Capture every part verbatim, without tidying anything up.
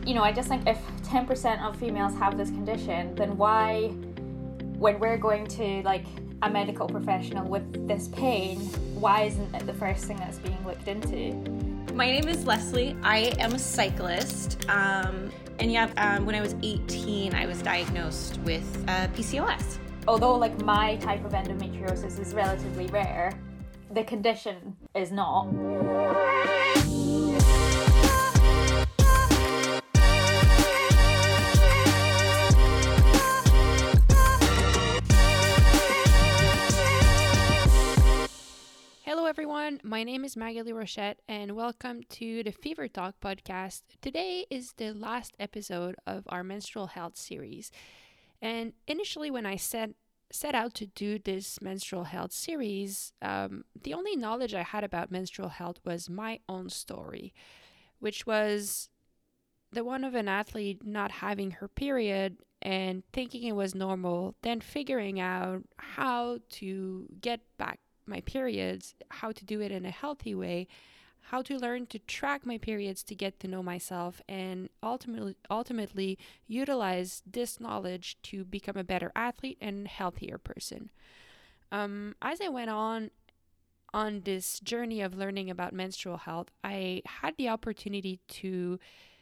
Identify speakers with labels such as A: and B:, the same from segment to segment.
A: you know, I just think if ten percent of females have this condition, then why, when we're going to like a medical professional with this pain, why isn't it the first thing that's being looked into?
B: My name is Leslie. I am a cyclist. Um, and yeah, um, when I was eighteen, I was diagnosed with uh, P C O S.
A: Although like my type of endometriosis is relatively rare, the condition is not.
C: Hello everyone, my name is Magali Rochette and welcome to the Fever Talk podcast. Today is the last episode of our menstrual health series. And initially when I set, set out to do this menstrual health series, um, the only knowledge I had about menstrual health was my own story, which was the one of an athlete not having her period and thinking it was normal, then figuring out how to get back my periods, how to do it in a healthy way, how to learn to track my periods to get to know myself, and ultimately ultimately utilize this knowledge to become a better athlete and healthier person. Um, as I went on on this journey of learning about menstrual health, I had the opportunity to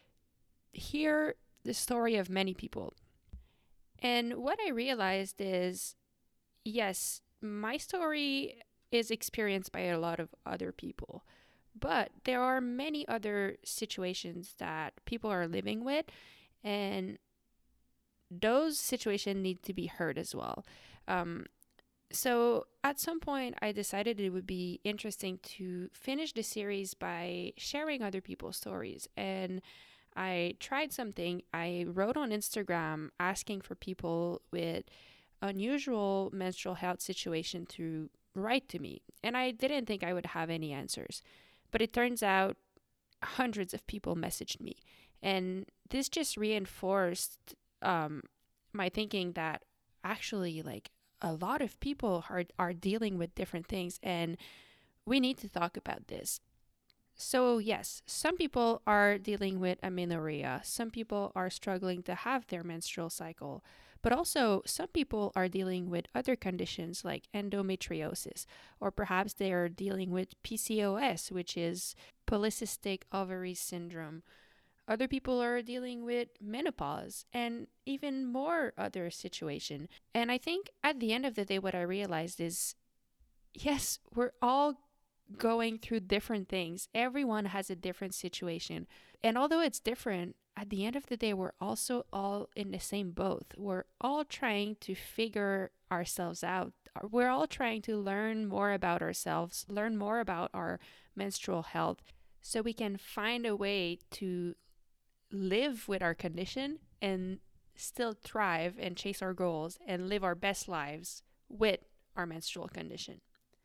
C: hear the story of many people. And what I realized is, yes, my story is experienced by a lot of other people. But there are many other situations that people are living with, and those situations need to be heard as well. Um, so at some point, I decided it would be interesting to finish the series by sharing other people's stories. And I tried something. I wrote on Instagram asking for people with unusual menstrual health situation to write to me. And I didn't think I would have any answers. But it turns out hundreds of people messaged me. And this just reinforced um, my thinking that actually, like, a lot of people are, are dealing with different things. And we need to talk about this. So yes, some people are dealing with amenorrhea. Some people are struggling to have their menstrual cycle. But also, some people are dealing with other conditions like endometriosis, or perhaps they are dealing with P C O S, which is polycystic ovary syndrome. Other people are dealing with menopause and even more other situation. And I think at the end of the day, what I realized is, yes, we're all going through different things. Everyone has a different situation. And although it's different, at the end of the day, we're also all in the same boat. We're all trying to figure ourselves out. We're all trying to learn more about ourselves, learn more about our menstrual health, so we can find a way to live with our condition and still thrive and chase our goals and live our best lives with our menstrual condition.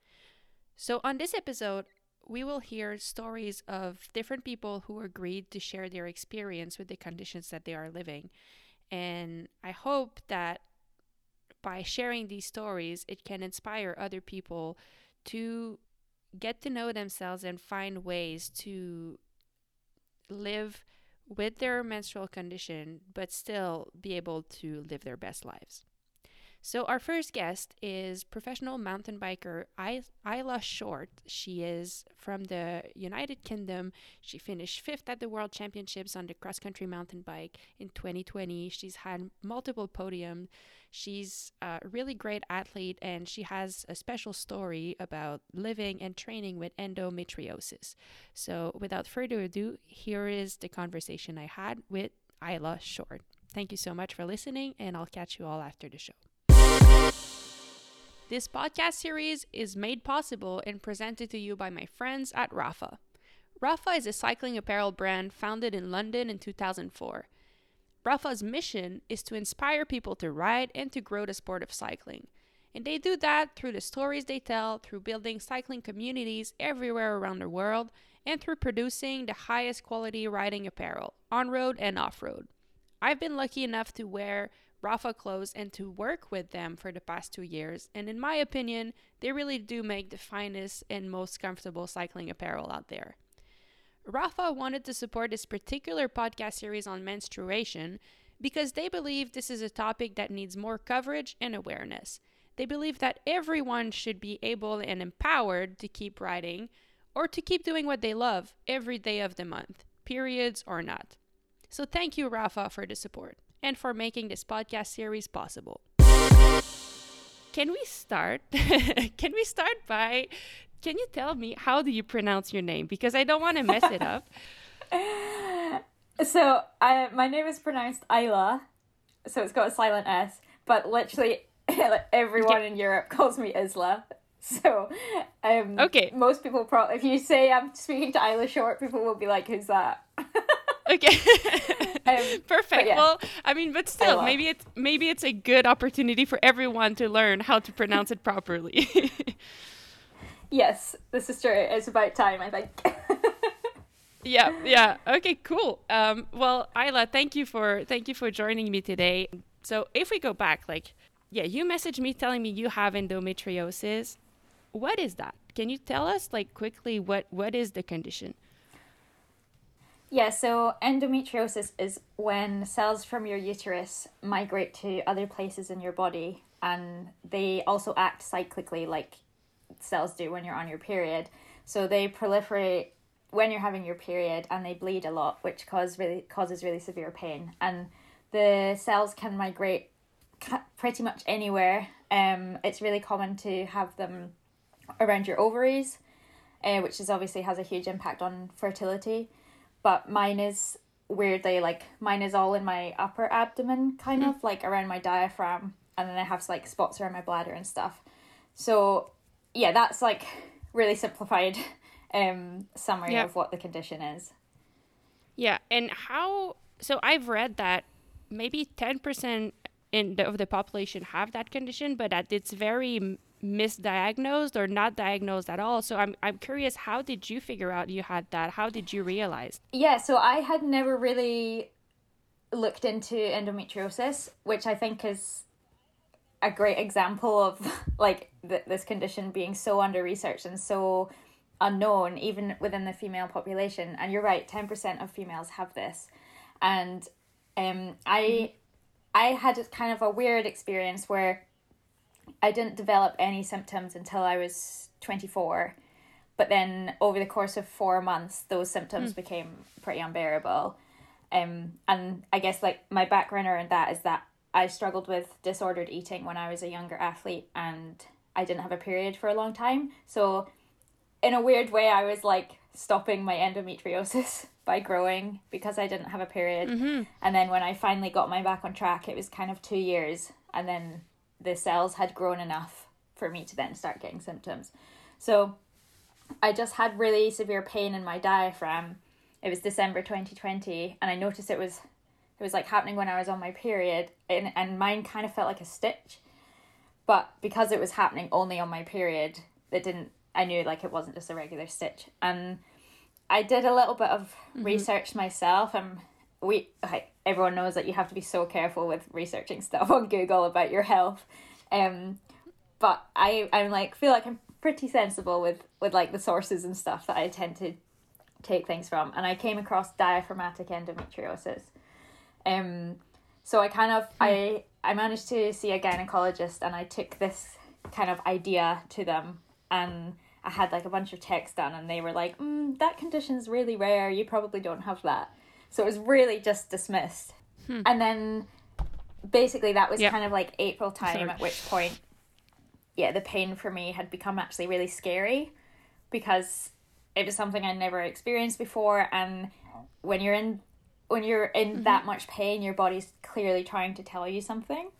C: So on this episode, we will hear stories of different people who agreed to share their experience with the conditions that they are living. And I hope that by sharing these stories, it can inspire other people to get to know themselves and find ways to live with their menstrual condition, but still be able to live their best lives. So our first guest is professional mountain biker Isla Short. She is from the United Kingdom. She finished fifth at the World Championships on the cross-country mountain bike in twenty twenty. She's had multiple podiums. She's a really great athlete, and she has a special story about living and training with endometriosis. So without further ado, here is the conversation I had with Isla Short. Thank you so much for listening, and I'll catch you all after the show. This podcast series is made possible and presented to you by my friends at Rapha. Rapha is a cycling apparel brand founded in London in two thousand four. Rapha's mission is to inspire people to ride and to grow the sport of cycling. And they do that through the stories they tell, through building cycling communities everywhere around the world, and through producing the highest quality riding apparel, on-road and off-road. I've been lucky enough to wear Rapha clothes and to work with them for the past two years. And in my opinion, they really do make the finest and most comfortable cycling apparel out there. Rafa wanted to support this particular podcast series on menstruation because they believe this is a topic that needs more coverage and awareness. They believe that everyone should be able and empowered to keep writing or to keep doing what they love every day of the month, periods or not. So thank you, Rafa, for the support and for making this podcast series possible. Can we start? Can we start by, can you tell me, how do you pronounce your name? Because I don't want to mess it up.
A: So, uh, my name is pronounced Isla, so it's got a silent S, but literally everyone in Europe calls me Isla. So, um,
C: okay.
A: most people probably, if you say I'm speaking to Isla Short, people will be like, who's that?
C: Okay.
A: um,
C: Perfect.
A: yeah.
C: Well, I mean, but still,
A: Isla.
C: maybe it's maybe it's a good opportunity for everyone to learn how to pronounce it properly.
A: Yes, this is true. It's about time, I think.
C: yeah, yeah. Okay, cool. Um, well, Isla, thank you for thank you for joining me today. So, if we go back, like, yeah, you messaged me telling me you have endometriosis. What is that? Can you tell us, like, quickly what what is the condition?
A: Yeah, so endometriosis is when cells from your uterus migrate to other places in your body, and they also act cyclically like cells do when you're on your period. So they proliferate when you're having your period, and they bleed a lot, which cause really causes really severe pain. And the cells can migrate pretty much anywhere. Um, it's really common to have them around your ovaries, uh, which is obviously has a huge impact on fertility. But mine is weirdly, like, mine is all in my upper abdomen, kind mm. of, like, around my diaphragm. And then I have, like, spots around my bladder and stuff. So, yeah, that's, like, really simplified um, summary yeah. of what the condition is.
C: Yeah, and how... So I've read that maybe ten percent in the, of the population have that condition, but that it's very misdiagnosed or not diagnosed at all. So I'm I'm curious, how did you figure out you had that? How did you realize?
A: Yeah, so I had never really looked into endometriosis, which I think is a great example of like th- this condition being so under-researched and so unknown even within the female population. And you're right, ten percent of females have this. And um I mm-hmm. I had kind of a weird experience where I didn't develop any symptoms until I was twenty-four. But then over the course of four months, those symptoms mm. became pretty unbearable. Um, and I guess like my background around that is that I struggled with disordered eating when I was a younger athlete, and I didn't have a period for a long time. So in a weird way, I was like stopping my endometriosis by growing because I didn't have a period.
C: Mm-hmm.
A: And then when I finally got mine back on track, it was kind of two years. And then the cells had grown enough for me to then start getting symptoms. So I just had really severe pain in my diaphragm. It was December twenty twenty, and I noticed it was it was like happening when I was on my period, and, and mine kind of felt like a stitch. But because it was happening only on my period, it didn't I knew like it wasn't just a regular stitch. And I did a little bit of mm-hmm. research myself, and we like, everyone knows that you have to be so careful with researching stuff on Google about your health. Um, but I I'm like feel like I'm pretty sensible with, with like the sources and stuff that I tend to take things from, and I came across diaphragmatic endometriosis. Um, so I kind of hmm. I I managed to see a gynecologist, and I took this kind of idea to them, and I had like a bunch of tests done, and they were like, mm, that condition's really rare, you probably don't have that. So it was really just dismissed. Hmm. And then basically that was yep. kind of like April time, Sorry. At which point, yeah, the pain for me had become actually really scary because it was something I'd never experienced before. And when you're in when you're in mm-hmm. that much pain, your body's clearly trying to tell you something.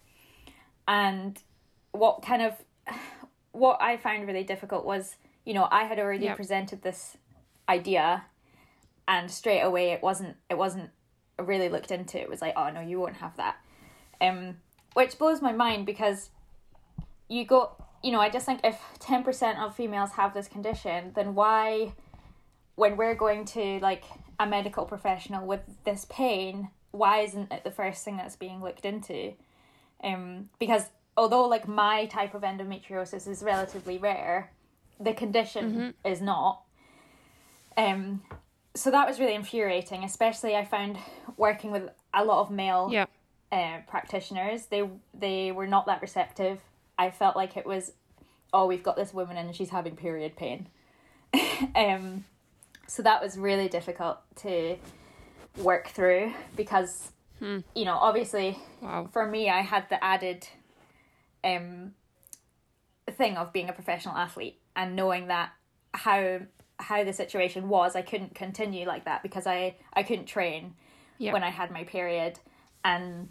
A: And what kind of what I found really difficult was, you know, I had already yep. presented this idea, and straight away it wasn't it wasn't really looked into. It was like, oh no, you won't have that. Um, which blows my mind because you go, you know, I just think if ten percent of females have this condition, then why, when we're going to like a medical professional with this pain, why isn't it the first thing that's being looked into? Um, because although like my type of endometriosis is relatively rare, the condition mm-hmm. is not. Um, so that was really infuriating, especially I found working with a lot of male
C: Yeah.
A: uh, practitioners. They they were not that receptive. I felt like it was, oh, we've got this woman and she's having period pain. um, so that was really difficult to work through because,
C: Hmm.
A: you know, obviously
C: Wow.
A: for me, I had the added um thing of being a professional athlete and knowing that how how the situation was, I couldn't continue like that because I I couldn't train
C: Yeah.
A: when I had my period, and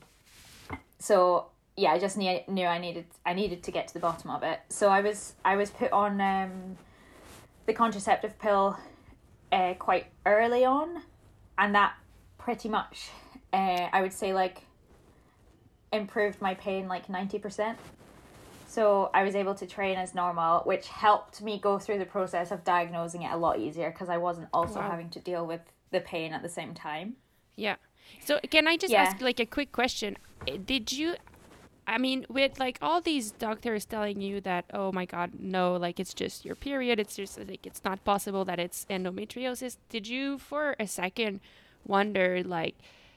A: so yeah, I just knew, knew I needed I needed to get to the bottom of it. So I was I was put on um the contraceptive pill uh, quite early on, and that pretty much uh, I would say like improved my pain like ninety percent. So I was able to train as normal, which helped me go through the process of diagnosing it a lot easier because I wasn't also
C: Wow.
A: having to deal with the pain at the same time.
C: Yeah. So can I just
A: Yeah.
C: ask like a quick question? Uh, Did you I mean, with like all these doctors telling you that, oh my God, no, like it's just your period, it's just like it's not possible that it's endometriosis. Did you for a second wonder, like,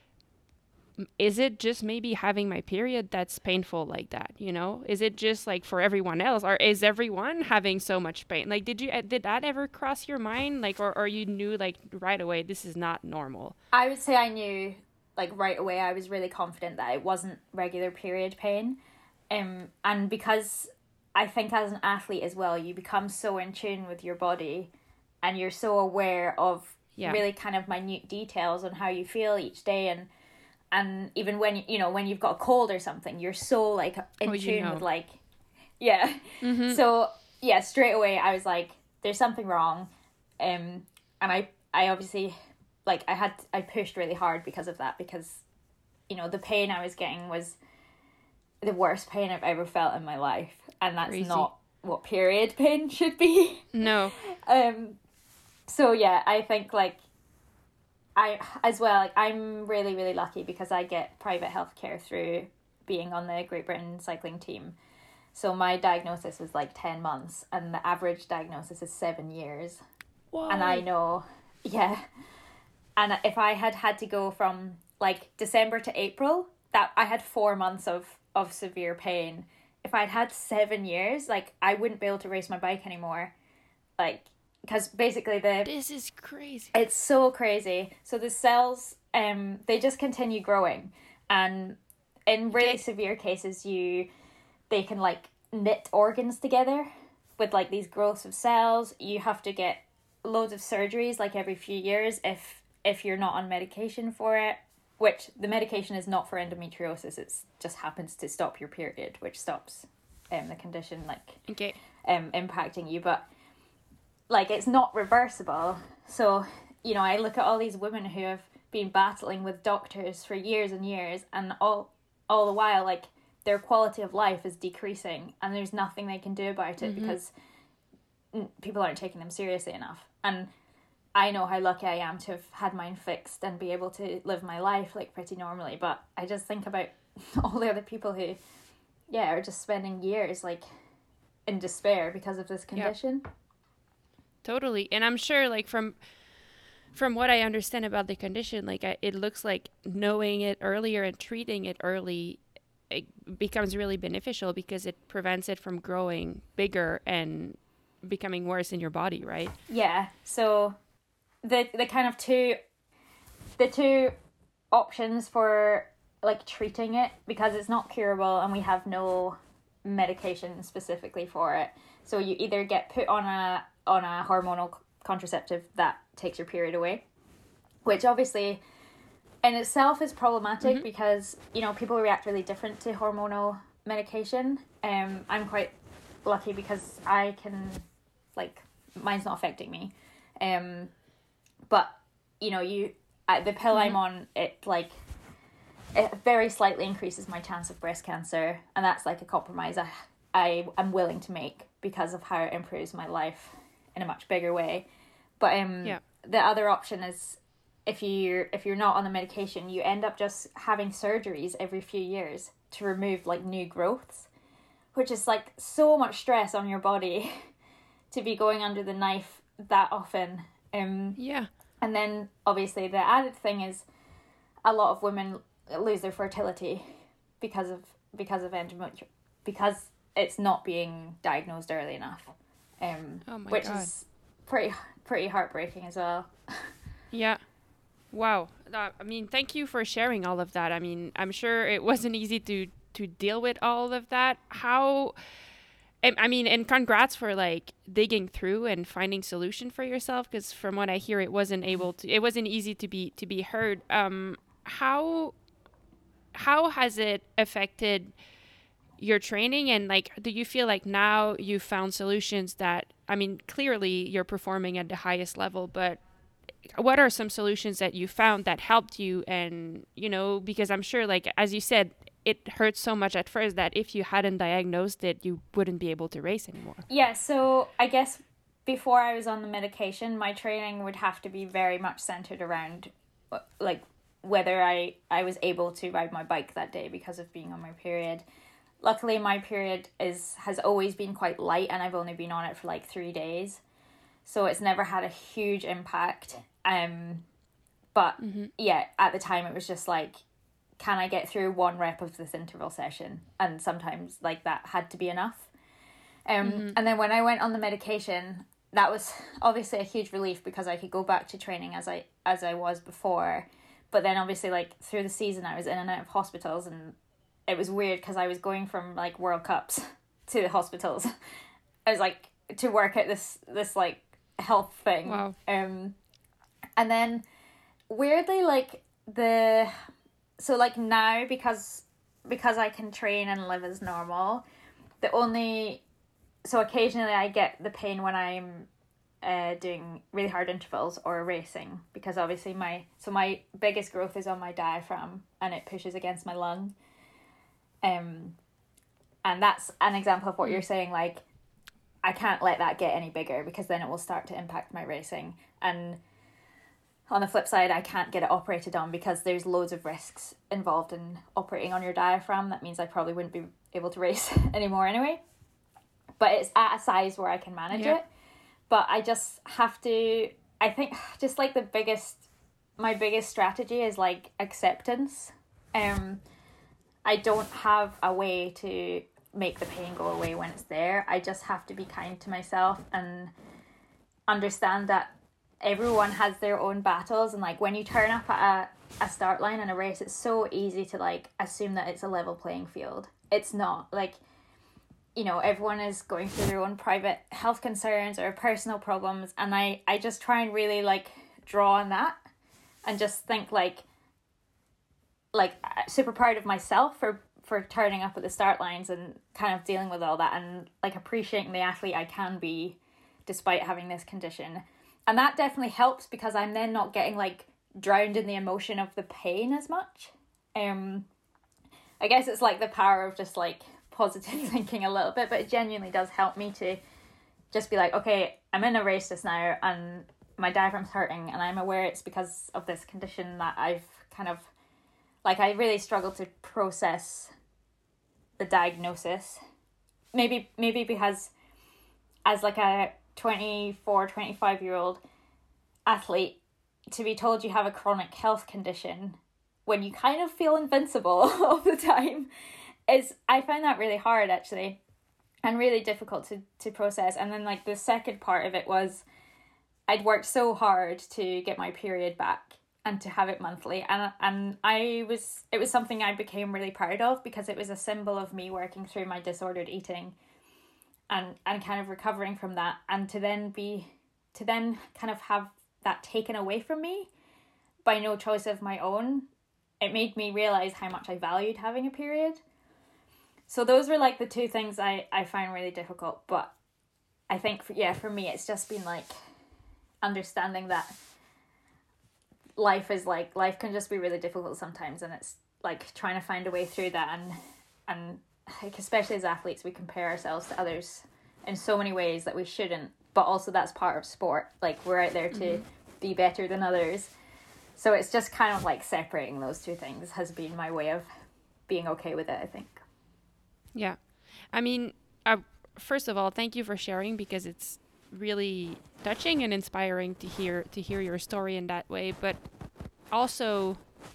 C: m- is it just maybe having my period that's painful like that? You know, is it just like for everyone else, or is everyone having so much pain? Like, did you uh, did that ever cross your mind, like, or or you knew like right away this is not normal?
A: I would say I knew like right away. I was really confident that it wasn't regular period pain, um, and because I think as an athlete as well, you become so in tune with your body, and you're so aware of
C: Yeah.
A: really kind of minute details on how you feel each day, and and even when you know when you've got a cold or something, you're so like in
C: Oh, you
A: tune
C: know.
A: with like, yeah.
C: Mm-hmm.
A: So yeah, straight away I was like, there's something wrong, um, and I I obviously like I had I pushed really hard because of that, because you know the pain I was getting was the worst pain I've ever felt in my life, and that's
C: Crazy.
A: not what period pain should be.
C: No.
A: um, so yeah, I think like I as well like I'm really really lucky because I get private healthcare through being on the Great Britain cycling team. So my diagnosis was like ten months, and the average diagnosis is seven years.
C: Whoa.
A: And I know, yeah. And if I had had to go from like December to April, that I had four months of, of severe pain. If I'd had seven years, like I wouldn't be able to race my bike anymore. Like, because basically the,
C: This is crazy.
A: it's so crazy. So the cells, um, they just continue growing. And in really
C: Okay.
A: severe cases, you, they can like knit organs together with like these growths of cells. You have to get loads of surgeries like every few years if if you're not on medication for it, which the medication is not for endometriosis. It just happens to stop your period, which stops um the condition like
C: Okay.
A: um impacting you, but like it's not reversible. So you know I look at all these women who have been battling with doctors for years and years, and all all the while like their quality of life is decreasing, and there's nothing they can do about it
C: Mhm.
A: because n- people aren't taking them seriously enough. And I know how lucky I am to have had mine fixed and be able to live my life like pretty normally, but I just think about all the other people who yeah are just spending years like in despair because of this condition.
C: Totally. And I'm sure like from from what I understand about the condition, like I, it looks like knowing it earlier and treating it early it becomes really beneficial because it prevents it from growing bigger and becoming worse in your body, right?
A: Yeah, so the the kind of two the two options for like treating it, because it's not curable and we have no medication specifically for it. So you either get put on a on a hormonal contraceptive that takes your period away, which obviously in itself is problematic
C: Mhm.
A: because you know people react really different to hormonal medication. Um, I'm quite lucky because I can like mine's not affecting me, um, but you know you uh, the pill I'm on, it like it very slightly increases my chance of breast cancer, and that's like a compromise I I am willing to make because of how it improves my life in a much bigger way. But um,
C: Yeah.
A: the other option is if you're if you're not on the medication, you end up just having surgeries every few years to remove like new growths, which is like so much stress on your body to be going under the knife that often. Um,
C: Yeah.
A: And then obviously the added thing is a lot of women lose their fertility because of because of endometrial, because it's not being diagnosed early enough, um,
C: Oh my
A: which
C: God.
A: is pretty pretty heartbreaking as well.
C: Yeah. Wow. Uh, I mean, thank you for sharing all of that. I mean, I'm sure it wasn't easy to to deal with all of that. How I I mean, and congrats for like digging through and finding solution for yourself, because from what I hear, it wasn't able to it wasn't easy to be to be heard. Um how how has it affected your training, and like do you feel like now you've found solutions that, I mean, clearly you're performing at the highest level, but what are some solutions that you found that helped you? And you know, because I'm sure, like as you said, it hurts so much at first that if you hadn't diagnosed it, you wouldn't be able to race anymore.
A: Yeah, so I guess before I was on the medication, my training would have to be very much centered around like whether I, I was able to ride my bike that day because of being on my period. Luckily, my period is has always been quite light, and I've only been on it for like three days. So it's never had a huge impact. Um, but mm-hmm. yeah, at the time it was just like, can I get through one rep of this interval session? And sometimes like that had to be enough. Um, mm-hmm. And then when I went on the medication, that was obviously a huge relief because I could go back to training as I as I was before. But then obviously like through the season I was in and out of hospitals, and it was weird because I was going from like World Cups to the hospitals. I was like to work at this this like health thing.
C: Wow.
A: Um, and then weirdly like the so like now because because I can train and live as normal, the only so occasionally I get the pain when I'm uh doing really hard intervals or racing, because obviously my so my biggest growth is on my diaphragm and it pushes against my lung. Um, and that's an example of what mm. you're saying, like I can't let that get any bigger because then it will start to impact my racing. And on the flip side, I can't get it operated on because there's loads of risks involved in operating on your diaphragm. That means I probably wouldn't be able to race anymore anyway. But it's at a size where I can manage yeah. it. But I just have to, I think just like the biggest, my biggest strategy is like acceptance. Um, I don't have a way to make the pain go away when it's there. I just have to be kind to myself and understand that everyone has their own battles, and like when you turn up at a, a start line in a race, it's so easy to like assume that it's a level playing field. It's not. Like, you know, everyone is going through their own private health concerns or personal problems, and I, I just try and really like draw on that and just think like like super proud of myself for for turning up at the start lines and kind of dealing with all that, and like appreciating the athlete I can be despite having this condition. And that definitely helps because I'm then not getting like drowned in the emotion of the pain as much. Um, I guess it's like the power of just like positive thinking a little bit, but it genuinely does help me to just be like, okay, I'm in a race just now and my diaphragm's hurting and I'm aware it's because of this condition that I've kind of, like I really struggle to process the diagnosis. Maybe maybe because as like a twenty-four, twenty-five year old athlete, to be told you have a chronic health condition when you kind of feel invincible all the time is, I find that really hard actually and really difficult to, to process. And then like the second part of it was I'd worked so hard to get my period back and to have it monthly, and and I was it was something I became really proud of because it was a symbol of me working through my disordered eating and and kind of recovering from that, and to then be to then kind of have that taken away from me by no choice of my own, it made me realize how much I valued having a period. So those were like the two things I I find really difficult. But I think for, yeah for me it's just been like understanding that life is like life can just be really difficult sometimes, and it's like trying to find a way through that, and and like especially as athletes we compare ourselves to others in so many ways that we shouldn't, but also that's part of sport. Like we're out there to mm-hmm. be better than others, so it's just kind of like separating those two things has been my way of being okay with it, I think.
C: Yeah, I mean, uh, first of all, thank you for sharing, because it's really touching and inspiring to hear to hear your story in that way. But also,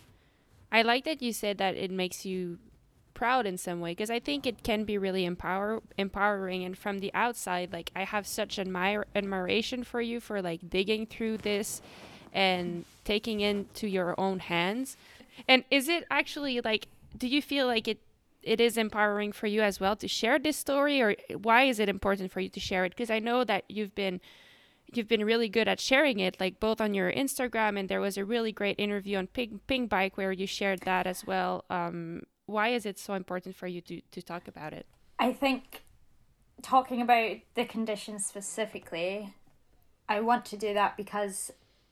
C: I like that you said that it makes you proud in some way, because I think it can be really empower empowering. And from the outside, like, I have such admire admiration for you for like digging through this and taking it into your own hands. And is it actually like, do you feel like it it is empowering for you as well to share this story, or why is it important for you to share it? Because I know that you've been you've been really good at sharing it, like both on your Instagram, and there was a really great interview on Pink, Pink Bike where you shared that as well. Um, why is it so important for you to, to talk about it?
A: I think talking about the condition specifically, I want to do that because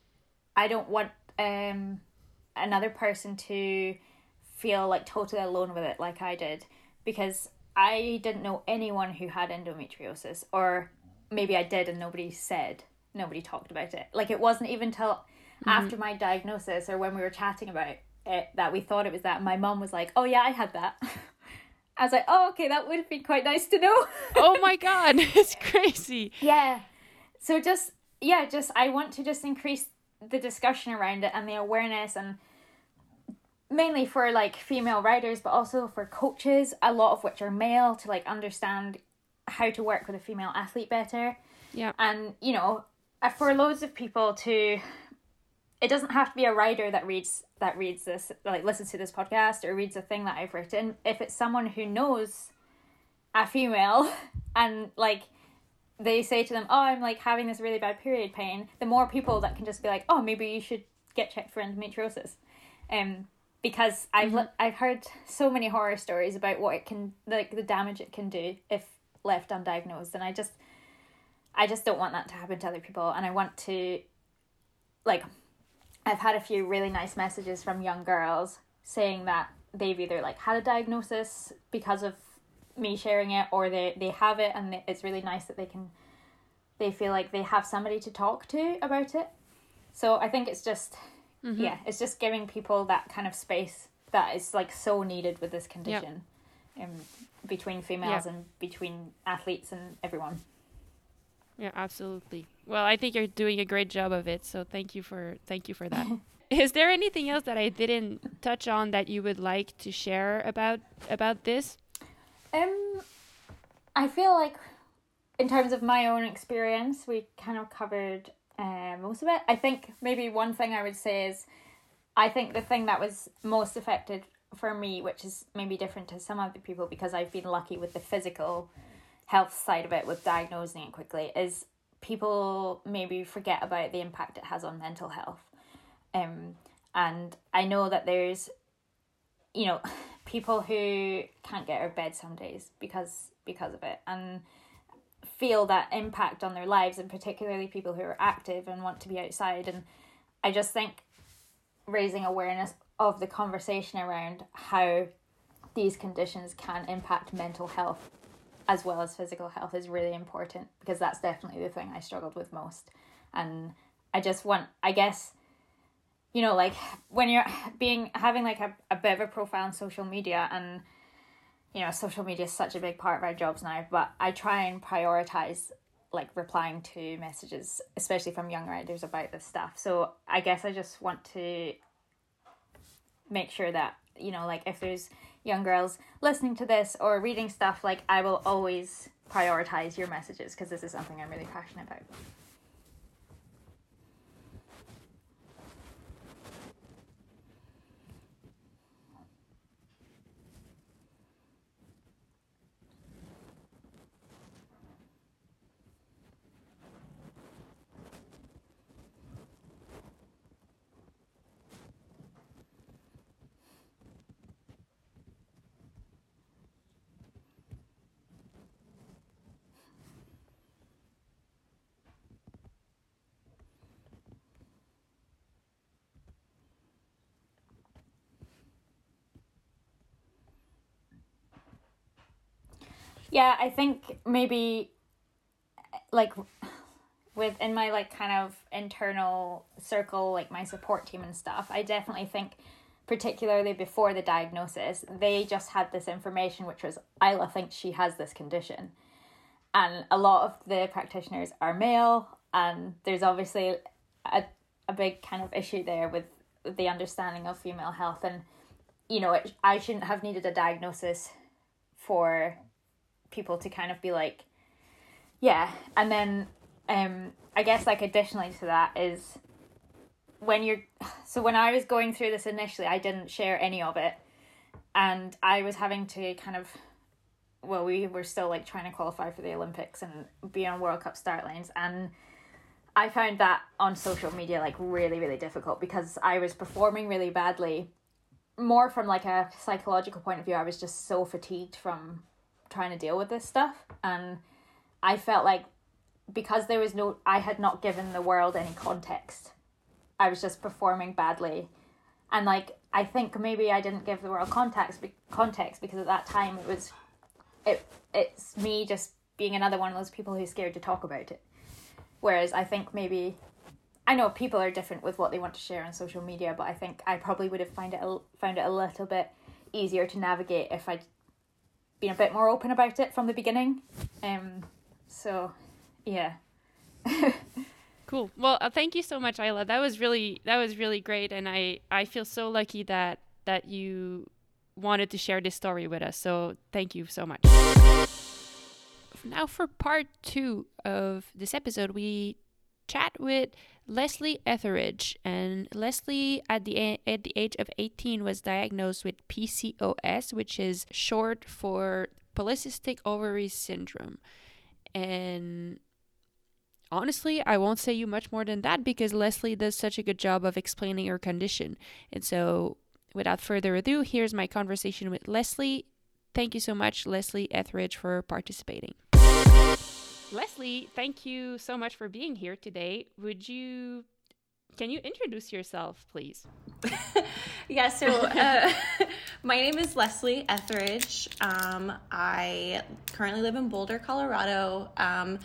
A: I don't want um, another person to feel like totally alone with it like I did, because I didn't know anyone who had endometriosis, or maybe I did and nobody said, nobody talked about it. Like, it wasn't even till mm-hmm. after my diagnosis, or when we were chatting about it, that we thought it was that. My mum was like, oh yeah, I had that. I was like, oh, okay, that would have been quite nice to know.
C: Oh my God, it's crazy.
A: Yeah. So just, yeah, just, I want to just increase the discussion around it and the awareness, and mainly for like female riders, but also for coaches, a lot of which are male, to like understand how to work with a female athlete better.
C: Yeah.
A: And, you know, for loads of people to, it doesn't have to be a rider that reads that reads this, like listens to this podcast or reads a thing that I've written. If it's someone who knows a female and like they say to them, oh, I'm like having this really bad period pain, the more people that can just be like, oh, maybe you should get checked for endometriosis. Um, because I've mm-hmm. I've heard so many horror stories about what it can, like the damage it can do if left undiagnosed, and I just I just don't want that to happen to other people. And I want to, like, I've had a few really nice messages from young girls saying that they've either like had a diagnosis because of me sharing it, or they, they have it and they, it's really nice that they can, they feel like they have somebody to talk to about it. So I think it's just, mm-hmm. yeah, it's just giving people that kind of space that is like so needed with this condition. Yep. Um, between females yep. and between athletes and everyone.
C: Yeah, absolutely. Well, I think you're doing a great job of it, so thank you for thank you for that. Is there anything else that I didn't touch on that you would like to share about about this?
A: Um, I feel like in terms of my own experience, we kind of covered uh, most of it. I think maybe one thing I would say is, I think the thing that was most affected for me, which is maybe different to some other people because I've been lucky with the physical health side of it with diagnosing it quickly, is people maybe forget about the impact it has on mental health. Um, and I know that there's, you know, people who can't get out of bed some days because because of it, and feel that impact on their lives, and particularly people who are active and want to be outside. And I just think raising awareness of the conversation around how these conditions can impact mental health as well as physical health is really important, because that's definitely the thing I struggled with most. And I just want, I guess, you know, like when you're being having like a, a bit of a profile on social media, and you know, social media is such a big part of our jobs now, but I try and prioritize like replying to messages, especially from young riders, about this stuff. So I guess I just want to make sure that, you know, like if there's young girls listening to this or reading stuff, like I will always prioritize your messages, because this is something I'm really passionate about. Yeah, I think maybe like within my like kind of internal circle, like my support team and stuff, I definitely think, particularly before the diagnosis, they just had this information, which was, Isla thinks she has this condition. And a lot of the practitioners are male, and there's obviously a, a big kind of issue there with the understanding of female health, and you know it, I shouldn't have needed a diagnosis for people to kind of be like, yeah. And then um I guess like additionally to that is when you're so when I was going through this initially, I didn't share any of it, and I was having to kind of well we were still like trying to qualify for the Olympics and be on World Cup start lines, and I found that on social media like really really difficult because I was performing really badly, more from like a psychological point of view. I was just so fatigued from trying to deal with this stuff, and I felt like because there was no I had not given the world any context, I was just performing badly. And like I think maybe I didn't give the world context context because at that time it was it it's me just being another one of those people who's scared to talk about it. Whereas I think maybe I know people are different with what they want to share on social media, but I think I probably would have found it a, found it a little bit easier to navigate if I'd been a bit more open about it from the beginning. Um, so, yeah.
C: Cool. Well, uh, thank you so much, Isla. That was really that was really great, and I, I feel so lucky that that you wanted to share this story with us. So thank you so much. Now for part two of this episode, we chat with Leslie Etheridge, and Leslie at the a- at the age of eighteen was diagnosed with P C O S, which is short for polycystic ovary syndrome. And honestly, I won't say you much more than that because Leslie does such a good job of explaining her condition. And so without further ado, here's my conversation with Leslie. Thank you so much, Leslie Etheridge, for participating. Leslie, thank you so much for being here today. Would you, can you introduce yourself, please?
B: Yeah, so uh, my name is Leslie Etheridge. Um, I currently live in Boulder, Colorado. Um,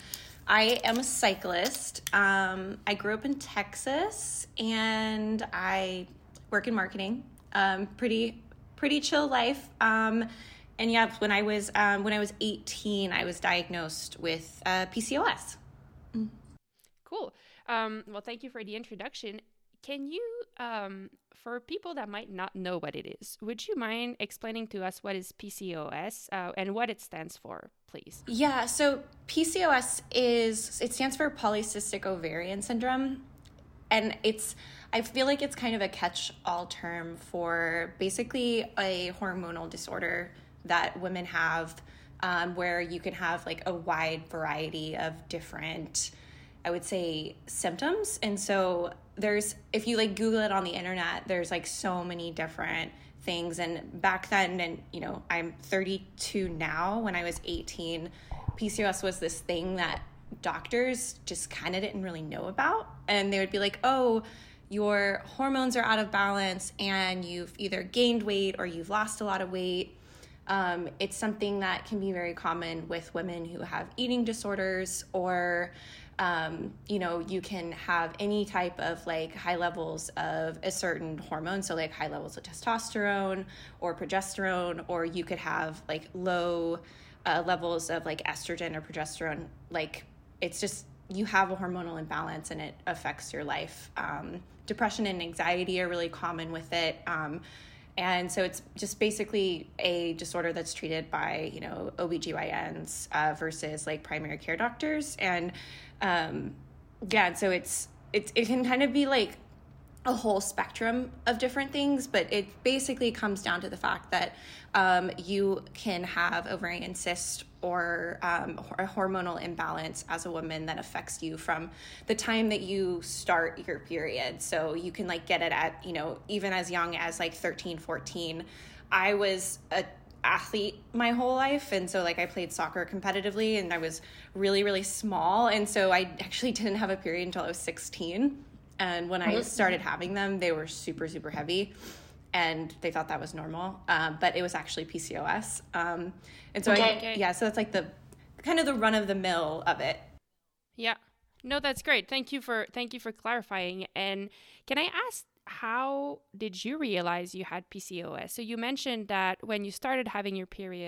B: I am a cyclist. Um, I grew up in Texas, and I work in marketing. Um, pretty, pretty chill life. Um, and yeah, when I was um, when I was eighteen, I was diagnosed with uh, P C O S. Mm.
C: Cool. Um, well, thank you for the introduction. Can you, um, for people that might not know what it is, would you mind explaining to us what is P C O S uh, and what it stands for, please?
B: Yeah, so P C O S is, it stands for polycystic ovarian syndrome. And it's, I feel like it's kind of a catch-all term for basically a hormonal disorder that women have, um, where you can have like a wide variety of different, I would say, symptoms. And so there's, if you like Google it on the internet, there's like so many different things. And back then, and you know, I'm thirty-two now, when I was eighteen, P C O S was this thing that doctors just kind of didn't really know about. And they would be like, oh, your hormones are out of balance and you've either gained weight or you've lost a lot of weight. Um, it's something that can be very common with women who have eating disorders, or Um, you know, you can have any type of like high levels of a certain hormone. So like high levels of testosterone or progesterone, or you could have like low uh, levels of like estrogen or progesterone. Like it's just, you have a hormonal imbalance and it affects your life. Um, depression and anxiety are really common with it. Um, And so it's just basically a disorder that's treated by, you know, O B G Y Ns uh, versus like primary care doctors. And um, yeah, so it's, it's, it can kind of be like a whole spectrum of different things, but it basically comes down to the fact that um, you can have ovarian cyst or um, a hormonal imbalance as a woman that affects you from the time that you start your period. So you can like get it at, you know, even as young as like thirteen, fourteen. I was a athlete my whole life, and so like I played soccer competitively, and I was really, really small, and so I actually didn't have a period until I was sixteen. And when I started having them, they were super, super heavy, and they thought that was normal. Uh, but it was actually P C O S. Um, and so,
A: Okay.
B: I, yeah, so that's like the kind of the run of the mill of it.
C: Yeah. No, that's great. Thank you for thank you for clarifying. And can I ask, how did you realize you had P C O S? So you mentioned that when you started having your period,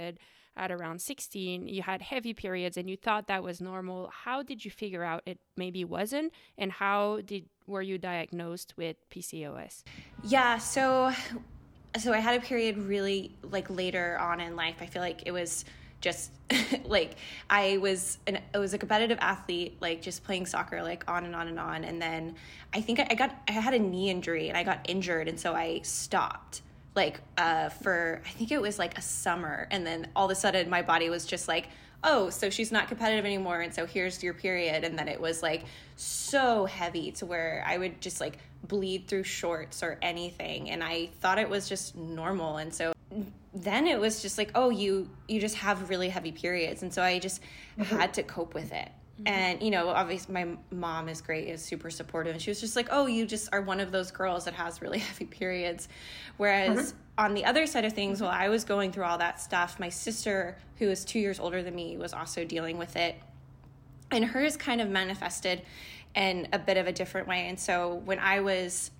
C: at around sixteen, you had heavy periods and you thought that was normal. How did you figure out it maybe wasn't? And how did were you diagnosed with P C O S?
B: Yeah, so so I had a period really like later on in life. I feel like it was just like I was an I was a competitive athlete, like just playing soccer, like on and on and on. And then I think I, I got I had a knee injury and I got injured, and so I stopped like uh for I think it was like a summer, and then all of a sudden my body was just like, oh, so she's not competitive anymore, and so here's your period. And then it was like so heavy to where I would just like bleed through shorts or anything, and I thought it was just normal. And so then it was just like, oh, you you just have really heavy periods. And so I just mm-hmm. had to cope with it. Mm-hmm. And, you know, obviously my mom is great, is super supportive. And she was just like, oh, you just are one of those girls that has really heavy periods. Whereas mm-hmm. on the other side of things, while I was going through all that stuff, my sister, who is two years older than me, was also dealing with it. And hers kind of manifested in a bit of a different way. And so when I was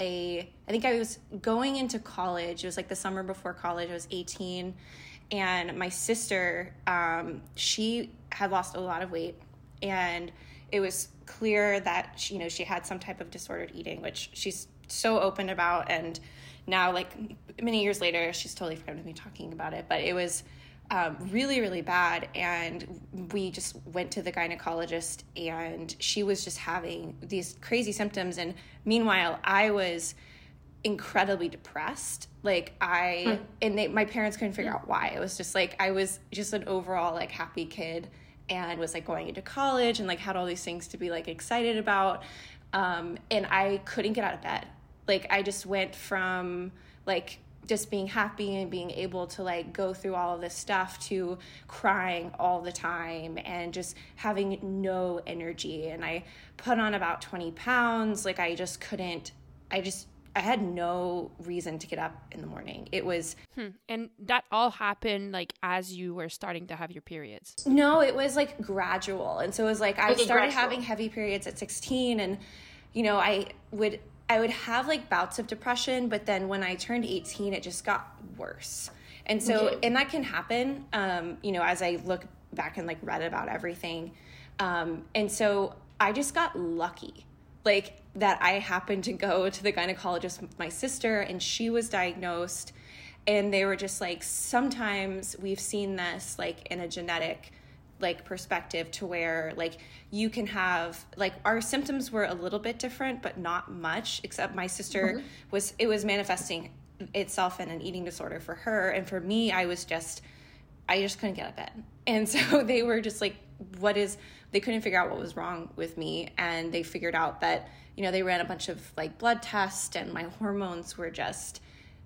B: a, I think I was going into college. It was like the summer before college. I was eighteen, and my sister, um, she had lost a lot of weight, and it was clear that she, you know, she had some type of disordered eating, which she's so open about. And now, like many years later, she's totally fine with me talking about it. But it was um, really, really bad. And we just went to the gynecologist, and she was just having these crazy symptoms. And meanwhile, I was incredibly depressed. Like I, hmm. and they, my parents couldn't figure out why. It was just like, I was just an overall like happy kid, and was like going into college and like had all these things to be like excited about. Um, and I couldn't get out of bed. Like I just went from like just being happy and being able to like go through all of this stuff to crying all the time and just having no energy. And I put on about twenty pounds. Like I just couldn't, I just, I had no reason to get up in the morning. It was...
C: Hmm. And that all happened like as you were starting to have your periods?
B: No, it was like gradual. And so it was like, I
A: okay,
B: started
A: gradual.
B: having heavy periods at sixteen, and, you know, I would... I would have like bouts of depression, but then when I turned eighteen, it just got worse. And so, okay. and that can happen, um, you know, as I look back and like read about everything. Um, and so I just got lucky, like that I happened to go to the gynecologist with my sister, and she was diagnosed, and they were just like, sometimes we've seen this like in a genetic like perspective to where like you can have like our symptoms were a little bit different, but not much, except my sister mm-hmm. was, it was manifesting itself in an eating disorder for her. And for me, I was just, I just couldn't get out of bed. And so they were just like, what is, they couldn't figure out what was wrong with me. And they figured out that, you know, they ran a bunch of like blood tests, and my hormones were just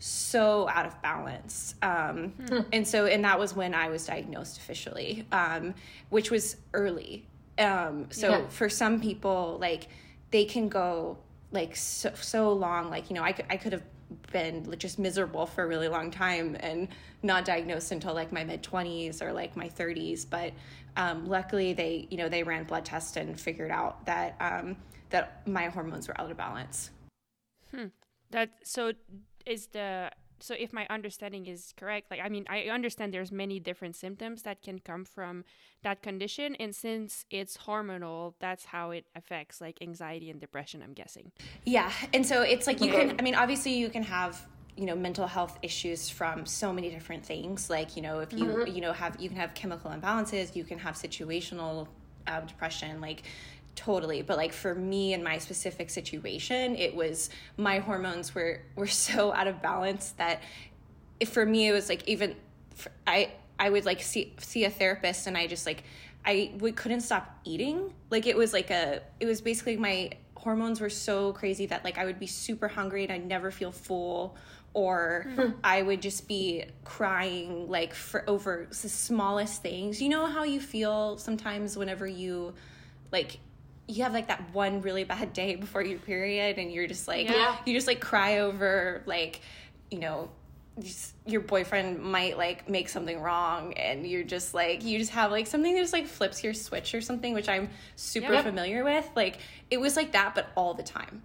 B: so out of balance. Um, hmm. And so, and that was when I was diagnosed officially, um, which was early. Um, so yeah. for some people, like they can go like so, so long, like, you know, I could, I could have been just miserable for a really long time and not diagnosed until like my mid twenties or like my thirties. But, um, luckily they, you know, they ran blood tests and figured out that, um, that my hormones were out of balance.
C: Hmm. That, so is the, so if my understanding is correct, like, I mean, I understand there's many different symptoms that can come from that condition. And since it's hormonal, that's how it affects like anxiety and depression, I'm guessing.
B: Yeah. And so it's like, you can, I mean, obviously you can have, you know, mental health issues from so many different things. Like, you know, if you, mm-hmm. you know, have, you can have chemical imbalances, you can have situational uh, depression, like, totally. But like for me in my specific situation, it was my hormones were were so out of balance that if for me it was like, even for, I I would like see see a therapist, and I just like I would couldn't stop eating. Like it was like a it was basically my hormones were so crazy that like I would be super hungry and I'd never feel full, or mm-hmm. I would just be crying like for over the smallest things. You know how you feel sometimes whenever you like you have like that one really bad day before your period, and you're just like, yeah. you just like cry over like, you know, just, your boyfriend might like make something wrong, and you're just like, you just have like something that just like flips your switch or something, which I'm super
C: yeah.
B: familiar with. Like it was like that, but all the time.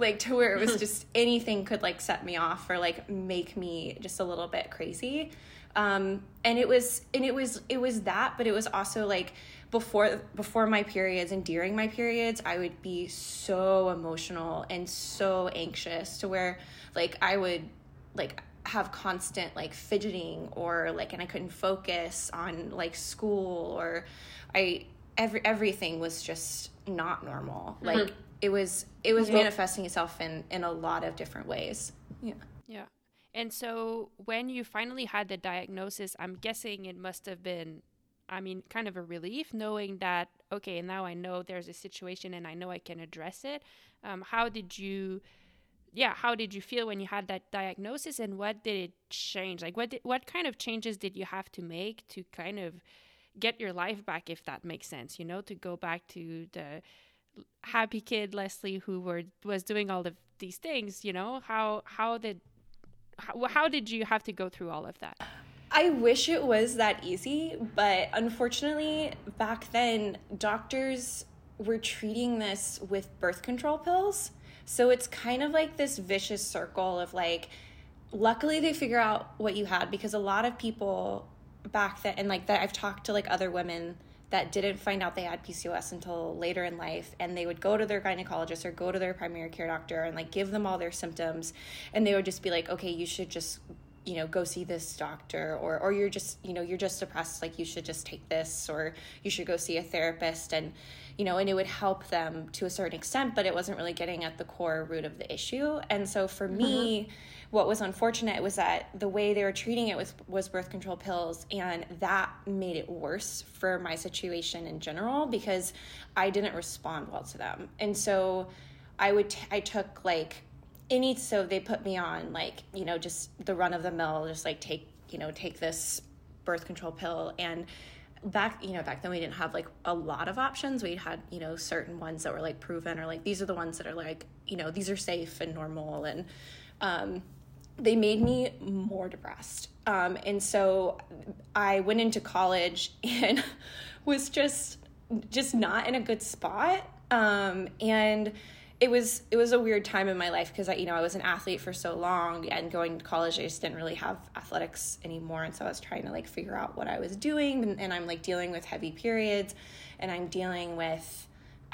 B: like to where it was just anything could like set me off or like make me just a little bit crazy. Um, and it was, and it was, it was that, but it was also like before, before my periods and during my periods, I would be so emotional and so anxious to where like I would like have constant like fidgeting or like, and I couldn't focus on like school or I, every, everything was just not normal. Mm-hmm. Like it was, it was yeah. manifesting itself in, in a lot of different ways. Yeah.
C: Yeah. And so when you finally had the diagnosis, I'm guessing it must have been, I mean, kind of a relief knowing that, okay, now I know there's a situation and I know I can address it. Um, how did you, yeah, how did you feel when you had that diagnosis, and what did it change? Like what, did, what kind of changes did you have to make to kind of get your life back, if that makes sense, you know, to go back to the happy kid Leslie who were, was doing all of these things, you know, how, how did, How, how did you have to go through all of that?
B: I wish it was that easy, but unfortunately, back then, doctors were treating this with birth control pills. So it's kind of like this vicious circle of like, luckily they figure out what you had, because a lot of people back then, and like that I've talked to like other women that didn't find out they had P C O S until later in life, and they would go to their gynecologist or go to their primary care doctor and like give them all their symptoms, and they would just be like, okay, you should just, you know, go see this doctor, or or you're just, you know, you're just depressed, like you should just take this, or you should go see a therapist. And you know, and it would help them to a certain extent, but it wasn't really getting at the core root of the issue. And so for mm-hmm. me, what was unfortunate was that the way they were treating it was, was birth control pills, and that made it worse for my situation in general because I didn't respond well to them. And so I would, t- I took like any, so they put me on like, you know, just the run of the mill, just like take, you know, take this birth control pill. And back, you know, back then we didn't have like a lot of options. We had, you know, certain ones that were like proven, or like, these are the ones that are like, you know, these are safe and normal. And, um, they made me more depressed. Um, and so I went into college and was just, just not in a good spot. Um, and it was, it was a weird time in my life because I, you know, I was an athlete for so long, and going to college, I just didn't really have athletics anymore. And so I was trying to like figure out what I was doing, and, and I'm like dealing with heavy periods, and I'm dealing with,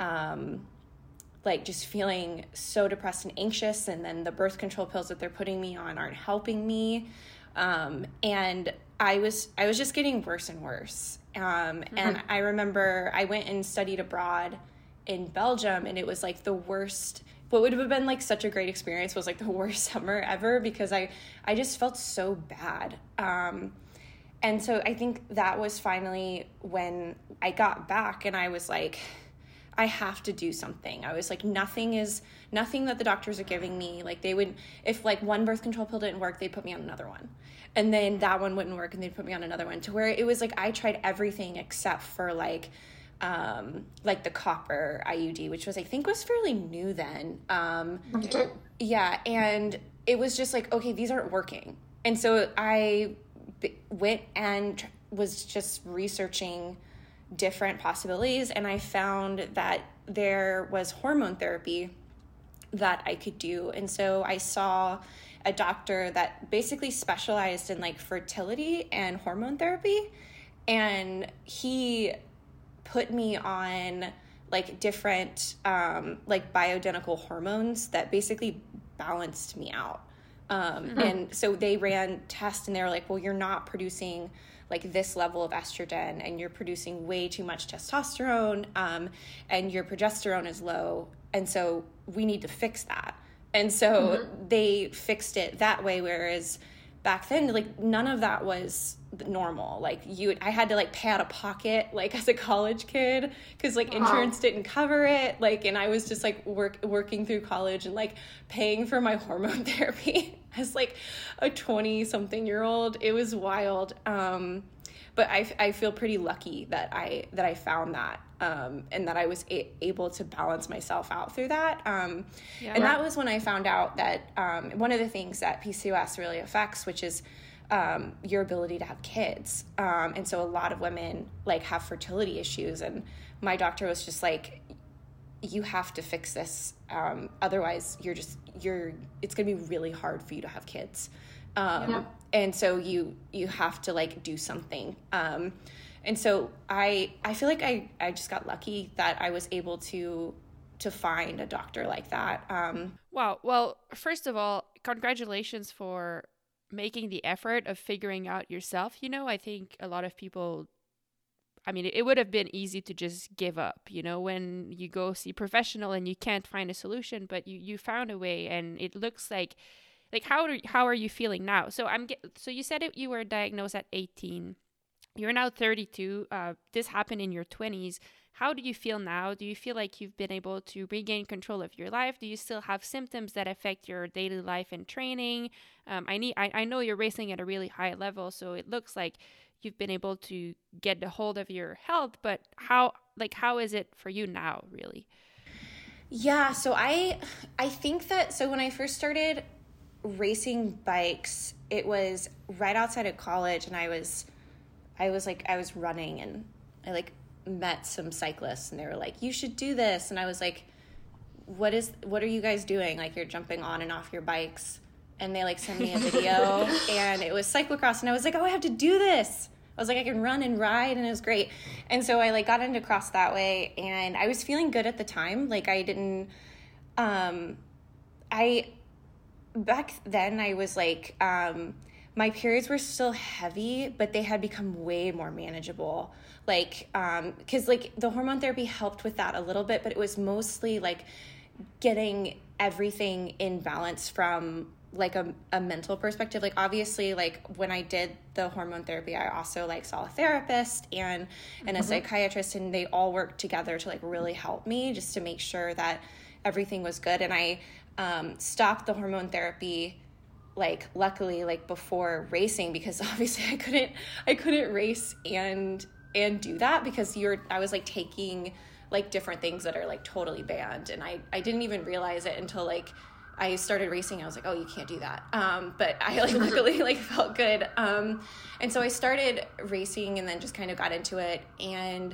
B: um, like just feeling so depressed and anxious. And then the birth control pills that they're putting me on aren't helping me. Um, and I was, I was just getting worse and worse. Um, mm-hmm. and I remember I went and studied abroad in Belgium, and it was like the worst, what would have been like such a great experience was like the worst summer ever, because I, I just felt so bad. Um, and so I think that was finally when I got back, and I was like, I have to do something. I was like, nothing is, nothing that the doctors are giving me. Like they would, if like one birth control pill didn't work, they'd put me on another one. And then that one wouldn't work, and they'd put me on another one, to where it was like, I tried everything except for like, um, like the copper I U D, which was, I think was fairly new then. Um, yeah. And it was just like, okay, these aren't working. And so I b- went and was just researching different possibilities, and I found that there was hormone therapy that I could do. And so I saw a doctor that basically specialized in like fertility and hormone therapy, and he put me on like different um like bioidentical hormones that basically balanced me out. Um mm-hmm. And so they ran tests, and they were like, well, you're not producing like this level of estrogen, and you're producing way too much testosterone, um, and your progesterone is low. And so we need to fix that. And so mm-hmm. they fixed it that way. Whereas back then, like none of that was normal. Like you, I had to like pay out of pocket, like as a college kid, cause like insurance wow. didn't cover it. Like, and I was just like work, working through college and like paying for my hormone therapy as like a twenty something year old. It was wild. Um, but I, I feel pretty lucky that I, that I found that, um, and that I was a- able to balance myself out through that. Um, yeah, and right. that was when I found out that, um, one of the things that P C O S really affects, which is, um, your ability to have kids. Um, and so a lot of women like have fertility issues, and my doctor was just like, you have to fix this. Um, otherwise you're just, you're, it's going to be really hard for you to have kids. Um, yeah. And so you, you have to like do something. Um, and so I, I feel like I, I just got lucky that I was able to, to find a doctor like that. Um,
C: wow. Well, first of all, congratulations for making the effort of figuring out yourself. You know, I think a lot of people, I mean, it would have been easy to just give up, you know, when you go see a professional and you can't find a solution, but you, you found a way, and it looks like, like, how are, how are you feeling now? So I'm get, so you said it, you were diagnosed at eighteen. You're now thirty-two. Uh, this happened in your twenties. How do you feel now? Do you feel like you've been able to regain control of your life? Do you still have symptoms that affect your daily life and training? Um, I need. I, I know you're racing at a really high level, so it looks like you've been able to get a hold of your health. But how, like, how is it for you now, really?
B: Yeah. So I, I think that so when I first started racing bikes, it was right outside of college, and I was, I was like, I was running, and I like. met some cyclists, and they were like, you should do this, and I was like, what is what are you guys doing? Like, you're jumping on and off your bikes. And they like sent me a video and it was cyclocross, and I was like, oh, I have to do this. I was like, I can run and ride, and it was great. And so I like got into cross that way, and I was feeling good at the time. Like I didn't um I back then I was like um my periods were still heavy, but they had become way more manageable. Like, um, cause like the hormone therapy helped with that a little bit, but it was mostly like getting everything in balance from like a, a mental perspective. Like obviously, like when I did the hormone therapy, I also like saw a therapist and, and mm-hmm. a psychiatrist, and they all worked together to like really help me just to make sure that everything was good. And I, um, stopped the hormone therapy like luckily like before racing, because obviously I couldn't, I couldn't race and, and do that because you're, I was like taking like different things that are like totally banned. And I, I didn't even realize it until like I started racing. I was like, oh, you can't do that. Um, but I like luckily like felt good. Um, and so I started racing and then just kind of got into it. And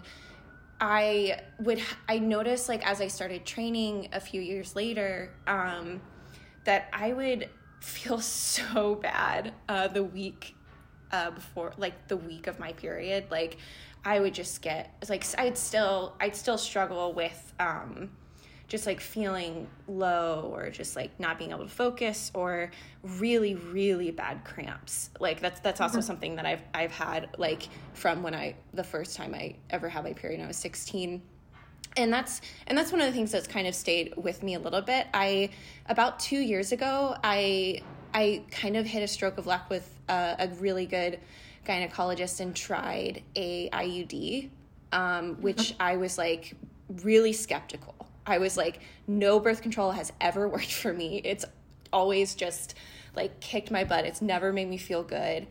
B: I would, I noticed like as I started training a few years later, um, that I would feel so bad uh, the week uh, before, like the week of my period. Like I would just get like I'd still I'd still struggle with um, just like feeling low or just like not being able to focus or really really bad cramps. Like that's that's also mm-hmm. something that I've I've had like from when I the first time I ever had my period when I was sixteen. And that's and that's one of the things that's kind of stayed with me a little bit. I about two years ago, I I kind of hit a stroke of luck with a, a really good gynecologist and tried a I U D, um, which I was like really skeptical. I was like, no birth control has ever worked for me. It's always just like kicked my butt. It's never made me feel good.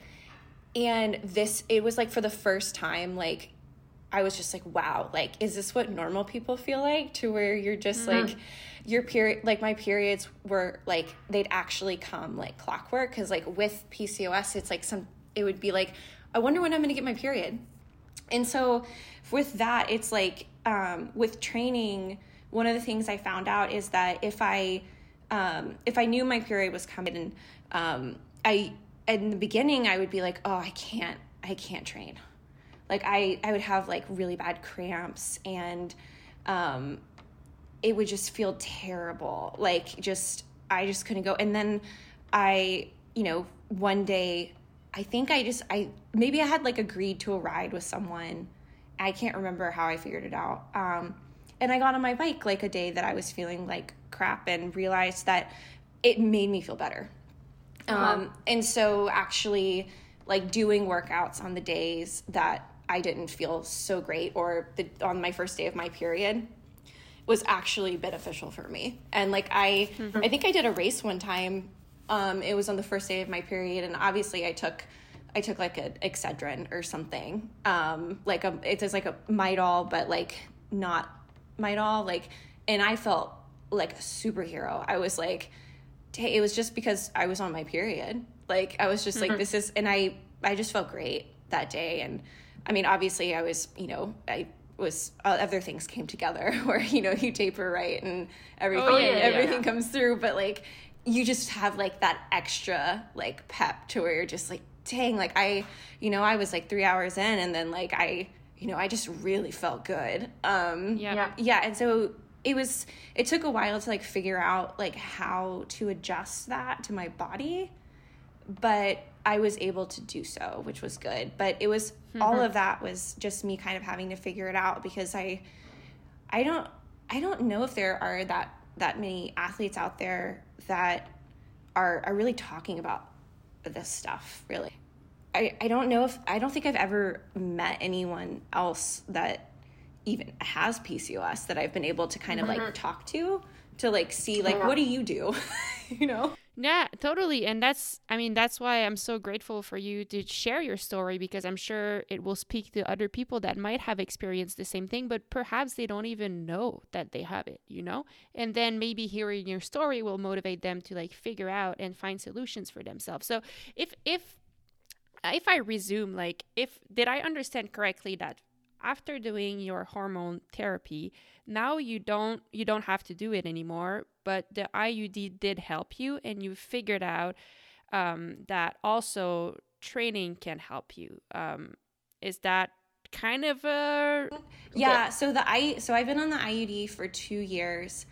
B: And this, it was like for the first time, like I was just like, wow, like, is this what normal people feel like? To where you're just mm-hmm. like, your period, like my periods were like, they'd actually come like clockwork. Cause like with P C O S, it's like some, it would be like, I wonder when I'm going to get my period. And so with that, it's like, um, with training, one of the things I found out is that if I, um, if I knew my period was coming, and, um, I, in the beginning, I would be like, oh, I can't, I can't train. Like I, I would have like really bad cramps, and um, it would just feel terrible. Like just, I just couldn't go. And then I, you know, one day, I think I just, I, maybe I had like agreed to a ride with someone. I can't remember how I figured it out. Um, and I got on my bike like a day that I was feeling like crap and realized that it made me feel better. Uh-huh. Um, and so actually like doing workouts on the days that I didn't feel so great, or the, on my first day of my period, was actually beneficial for me. And like I, mm-hmm. I think I did a race one time. Um, it was on the first day of my period, and obviously I took, I took like a Excedrin or something, um, like a, it's like a Midol, but like not Midol, like, and I felt like a superhero. I was like, it was just because I was on my period. Like I was just mm-hmm. like, this is, and I, I just felt great that day. And I mean, obviously I was, you know, I was uh, other things came together where, you know, you taper right and everything,
C: Oh, yeah, yeah,
B: everything
A: yeah.
B: comes through. But like, you just have like that extra like pep to where you're just like, dang, like I, you know, I was like three hours in and then like I, you know, I just really felt good. Um,
C: Yeah.
A: Yeah.
B: yeah. And so it was, it took a while to like figure out like how to adjust that to my body, but I was able to do so, which was good. But it was,
C: Mm-hmm.
B: all of that was just me kind of having to figure it out because I, I don't, I don't know if there are that, that many athletes out there that are, are really talking about this stuff, really. I, I don't know if, I don't think I've ever met anyone else that even has P C O S that I've been able to kind of like talk to, to like see like,
A: Yeah.
B: what do you do? You know?
C: Yeah, totally. And that's, I mean, that's why I'm so grateful for you to share your story, because I'm sure it will speak to other people that might have experienced the same thing, but perhaps they don't even know that they have it, you know? And then maybe hearing your story will motivate them to like figure out and find solutions for themselves. So if, if, if I resume, like, if, did I understand correctly that after doing your hormone therapy, now you don't you don't have to do it anymore, but the I U D did help you, and you figured out um, that also training can help you. Um, is that kind of a
B: Yeah, so the I so I've been on the I U D for two years,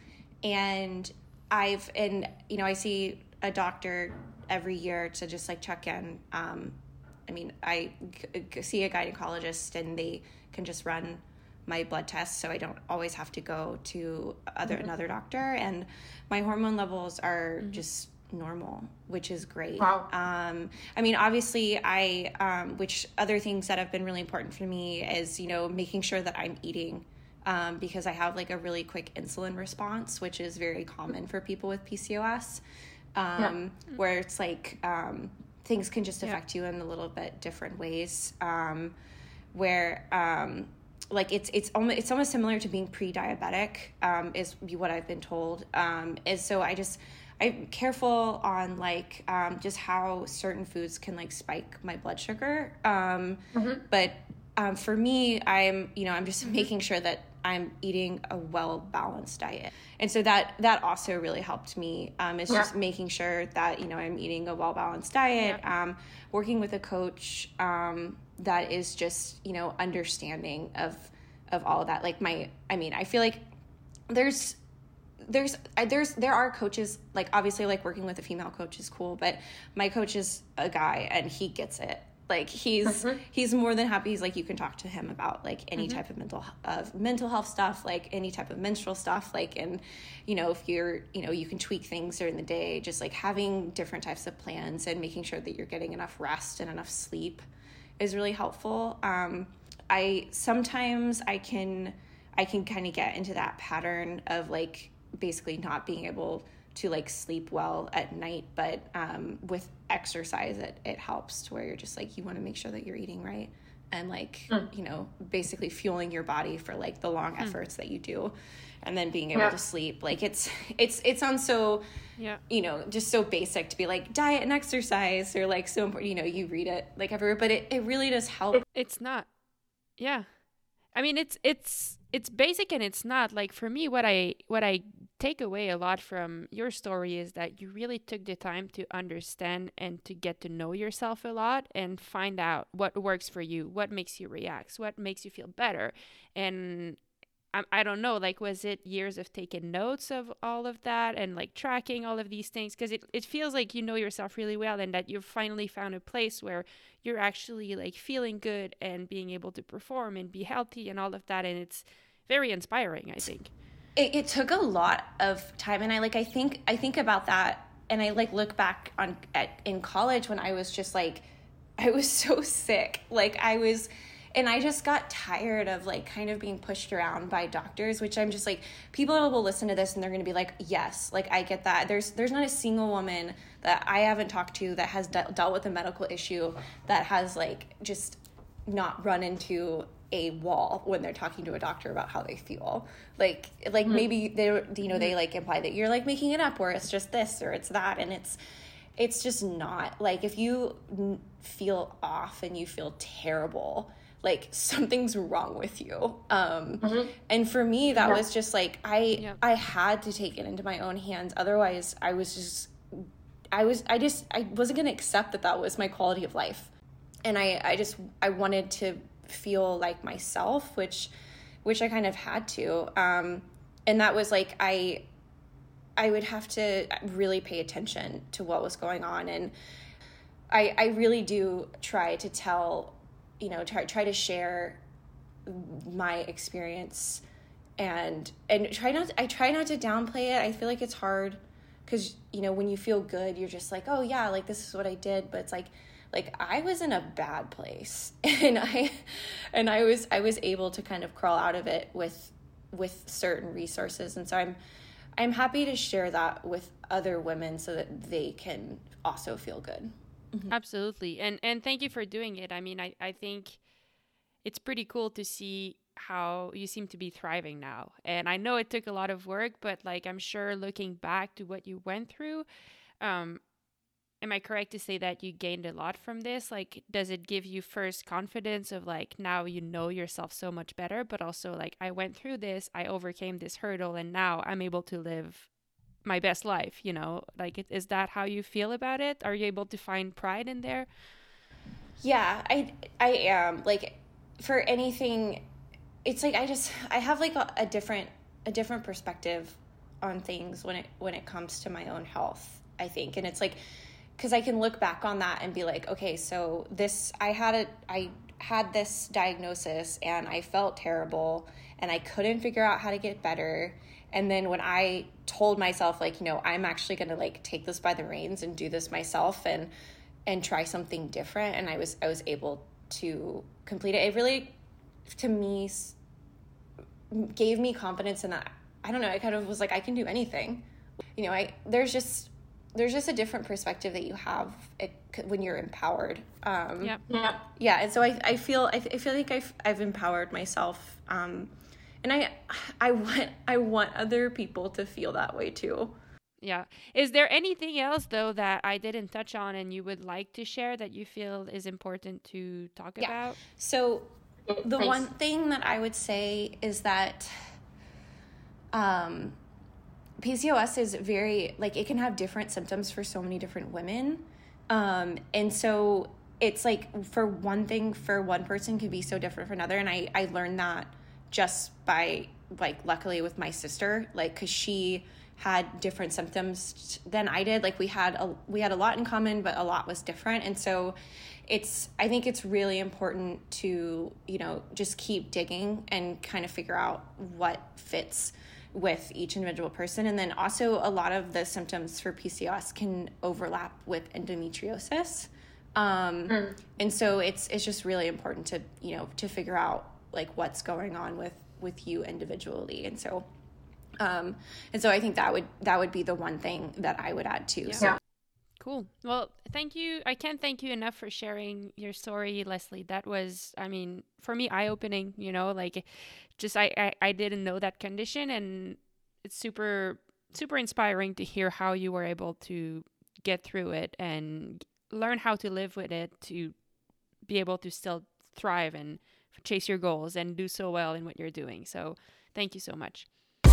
B: and I've and you know I see a doctor every year to just like check in. Um, I mean, I g- g- see a gynecologist, and they can just run my blood tests, so I don't always have to go to other
A: Mm-hmm.
B: another doctor. And my hormone levels are mm-hmm. just normal, which is great.
A: Wow.
B: Um, I mean, obviously, I um, which other things that have been really important for me is you know making sure that I'm eating. Um, because I have like a really quick insulin response, which is very common for people with P C O S, um, yeah. where it's like um, things can just affect yeah. you in a little bit different ways. Um, where um, like it's it's almost it's almost similar to being pre-diabetic, um, is what I've been told. Um, is so I just I'm careful on like um, just how certain foods can like spike my blood sugar. Um, mm-hmm. But um, for me, I'm you know I'm just mm-hmm. making sure that I'm eating a well-balanced diet. And so that, that also really helped me, um, is yeah. just making sure that, you know, I'm eating a well-balanced diet, yeah. um, working with a coach, um, that is just, you know, understanding of, of all of that. Like my, I mean, I feel like there's, there's, there's, there are coaches, like obviously like working with a female coach is cool, but my coach is a guy and he gets it. Like he's mm-hmm. he's more than happy. He's like, you can talk to him about like any mm-hmm. type of mental of mental health stuff, like any type of menstrual stuff, like, and you know if you're you know you can tweak things during the day, just like having different types of plans and making sure that you're getting enough rest and enough sleep is really helpful. Um, I sometimes I can I can kind of get into that pattern of like basically not being able to like sleep well at night, but um, with exercise, it, it helps to where you're just like, you want to make sure that you're eating right and like, mm. you know, basically fueling your body for like the long mm. efforts that you do, and then being able yeah. to sleep. Like it's, it's, it sounds so, yeah. you know, just so basic to be like diet and exercise or like so important, you know, you read it like everywhere, but it, it really does help.
C: It's not. Yeah. I mean, it's, it's, it's basic and it's not. Like for me, what I, what I take away a lot from your story is that you really took the time to understand and to get to know yourself a lot and find out what works for you, what makes you react, what makes you feel better. And I, I don't know, like, was it years of taking notes of all of that and like tracking all of these things? Because it, it feels like you know yourself really well and that you've finally found a place where you're actually like feeling good and being able to perform and be healthy and all of that. And it's very inspiring, I think.
B: It, it took a lot of time, and I like I think I think about that, and I like look back on at in college when I was just like I was so sick, like I was, and I just got tired of like kind of being pushed around by doctors, which I'm just like, people will listen to this and they're going to be like, yes, like I get that. There's there's not a single woman that I haven't talked to that has de- dealt with a medical issue that has like just not run into a wall when they're talking to a doctor about how they feel. Like, like mm-hmm. maybe they, you know, they like imply that you're like making it up, or it's just this or it's that. And it's, it's just not. Like, if you feel off and you feel terrible, like something's wrong with you. Um,
D: mm-hmm.
B: And for me, that
D: yeah.
B: was just like, I,
C: yeah.
B: I had to take it into my own hands. Otherwise I was just, I was, I just, I wasn't going to accept that that was my quality of life. And I, I just, I wanted to feel like myself, which, which I kind of had to. Um, and that was like, I, I would have to really pay attention to what was going on. And I, I really do try to tell, you know, try, try to share my experience and, and try not, I try not to downplay it. I feel like it's hard because, you know, when you feel good, you're just like, oh yeah, like this is what I did. But it's like, like I was in a bad place and I, and I was, I was able to kind of crawl out of it with, with certain resources. And so I'm, I'm happy to share that with other women so that they can also feel good.
C: Mm-hmm. Absolutely. And and thank you for doing it. I mean, I, I think it's pretty cool to see how you seem to be thriving now. And I know it took a lot of work, but like I'm sure looking back to what you went through, um, am I correct to say that you gained a lot from this? Like, does it give you first confidence of like, now you know yourself so much better, but also like, I went through this, I overcame this hurdle, and now I'm able to live my best life, you know? Like, is that how you feel about it? Are you able to find pride in there?
B: Yeah, I, I am. Like, for anything, it's like, I just, I have like a, a different, a different perspective on things when it, when it comes to my own health, I think. And it's like, because I can look back on that and be like, okay, so this, I had a, I had this diagnosis and I felt terrible and I couldn't figure out how to get better. And then when I told myself, like, you know, I'm actually going to like take this by the reins and do this myself and, and try something different. And I was, I was able to complete it. It really, to me, gave me confidence in that. I don't know. I kind of was like, I can do anything. You know, I, there's just, there's just a different perspective that you have it, when you're empowered. Um,
C: yeah.
D: Yeah.
B: Yeah. And so I, I feel, I, I feel like I've, I've empowered myself. Um, and I, I want, I want other people to feel that way too.
C: Yeah. Is there anything else though that I didn't touch on and you would like to share that you feel is important to talk
B: Yeah.
C: about?
B: So the
D: Thanks.
B: one thing that I would say is that, um, P C O S is very, like, it can have different symptoms for so many different women. Um, and so it's like, for one thing, for one person could be so different for another. And I, I learned that just by, like, luckily with my sister, like, cause she had different symptoms than I did. Like we had a, we had a lot in common, but a lot was different. And so it's, I think it's really important to, you know, just keep digging and kind of figure out what fits with each individual person. And then also a lot of the symptoms for P C O S can overlap with endometriosis. Um, mm. And so it's, it's just really important to, you know, to figure out like what's going on with, with you individually. And so, um, and so I think that would, that would be the one thing that I would add too.
C: Yeah.
B: So.
C: Cool. Well, thank you. I can't thank you enough for sharing your story, Leslie. That was, I mean, for me, eye-opening, you know, like just, I, I, I didn't know that condition, and it's super, super inspiring to hear how you were able to get through it and learn how to live with it, to be able to still thrive and chase your goals and do so well in what you're doing. So thank you so much.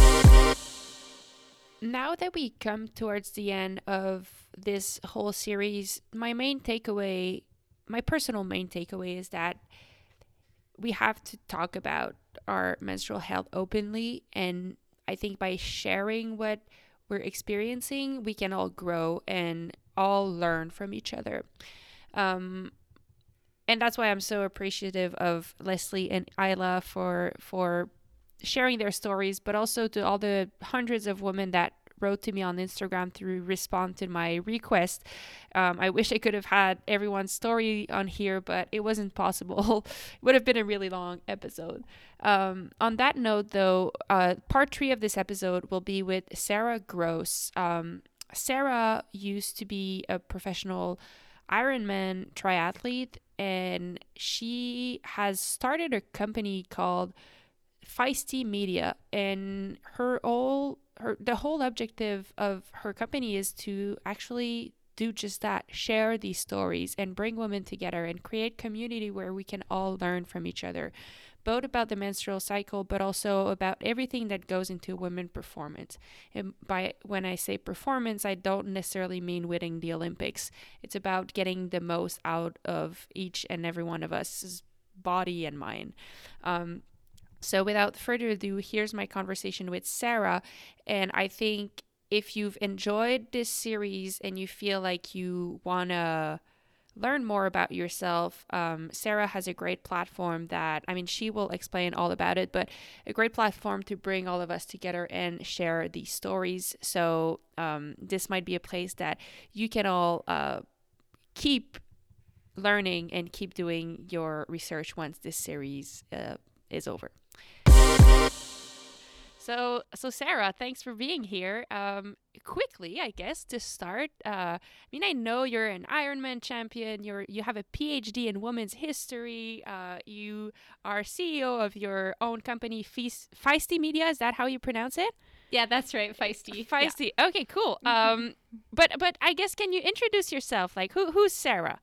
C: Now that we come towards the end of this whole series, my main takeaway, my personal main takeaway is that we have to talk about our menstrual health openly. And I think by sharing what we're experiencing, we can all grow and all learn from each other. Um, and that's why I'm so appreciative of Leslie and Isla for, for sharing their stories, but also to all the hundreds of women that wrote to me on Instagram to respond to my request. Um, I wish I could have had everyone's story on here, but it wasn't possible. It would have been a really long episode. Um, on that note, though, uh, part three of this episode will be with Sarah Gross. Um, Sarah used to be a professional Ironman triathlete, and she has started a company called Feisty Media, and her whole her the whole objective of her company is to actually do just that, share these stories and bring women together and create community where we can all learn from each other, both about the menstrual cycle, but also about everything that goes into women performance. And by when I say performance, I don't necessarily mean winning the Olympics. It's about getting the most out of each and every one of us, body and mind. Um, so without further ado, here's my conversation with Sarah. And I think if you've enjoyed this series and you feel like you want to learn more about yourself, um, Sarah has a great platform that, I mean, she will explain all about it, but a great platform to bring all of us together and share these stories. So um, this might be a place that you can all uh, keep learning and keep doing your research once this series uh, is over. So, so Sarah, thanks for being here. Um, quickly, I guess to start, uh, I mean, I know you're an Ironman champion. You're you have a P H D in women's history. Uh, you are C E O of your own company, Feist, Feisty Media. Is that how you pronounce it?
D: Yeah, that's right, Feisty.
C: Feisty. Yeah. Okay, cool. Um, but but I guess can you introduce yourself? Like, who who's Sarah?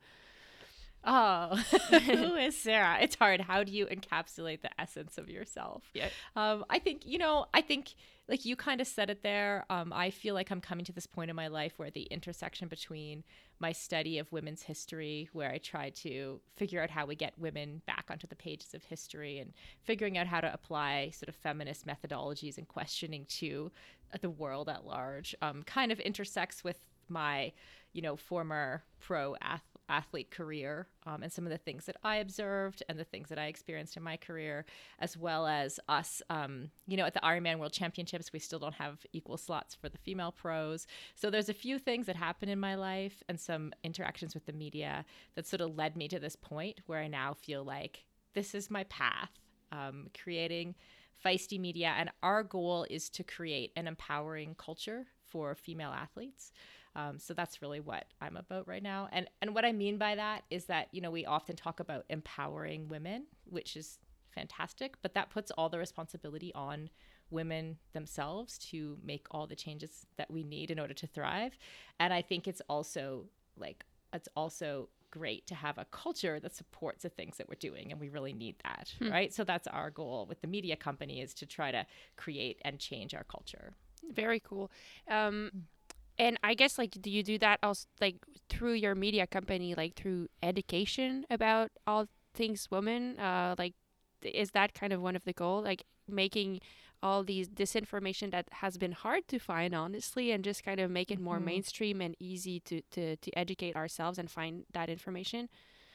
D: Oh, who is Sarah? It's hard. How do you encapsulate the essence of yourself?
C: Yeah.
D: Um, I think, you know, I think like you kind of said it there. Um, I feel like I'm coming to this point in my life where the intersection between my study of women's history, where I try to figure out how we get women back onto the pages of history, and figuring out how to apply sort of feminist methodologies and questioning to the world at large, um, kind of intersects with my, you know, former pro athlete athlete career, um, and some of the things that I observed and the things that I experienced in my career, as well as us, um, you know, at the Ironman World Championships, we still don't have equal slots for the female pros. So there's a few things that happened in my life and some interactions with the media that sort of led me to this point where I now feel like this is my path, um, creating Feisty Media. And our goal is to create an empowering culture for female athletes. Um, so that's really what I'm about right now. And and what I mean by that is that, you know, we often talk about empowering women, which is fantastic, but that puts all the responsibility on women themselves to make all the changes that we need in order to thrive. And I think it's also like, it's also great to have a culture that supports the things that we're doing. And we really need that, hmm. right? So that's our goal with the media company, is to try to create and change our culture.
C: Very cool. Um, And I guess, like, do you do that also, like, through your media company, like, through education about all things women? Uh, like, is that kind of one of the goals? Like, making all these disinformation that has been hard to find, honestly, and just kind of make it more mm-hmm. mainstream and easy to, to, to educate ourselves and find that information?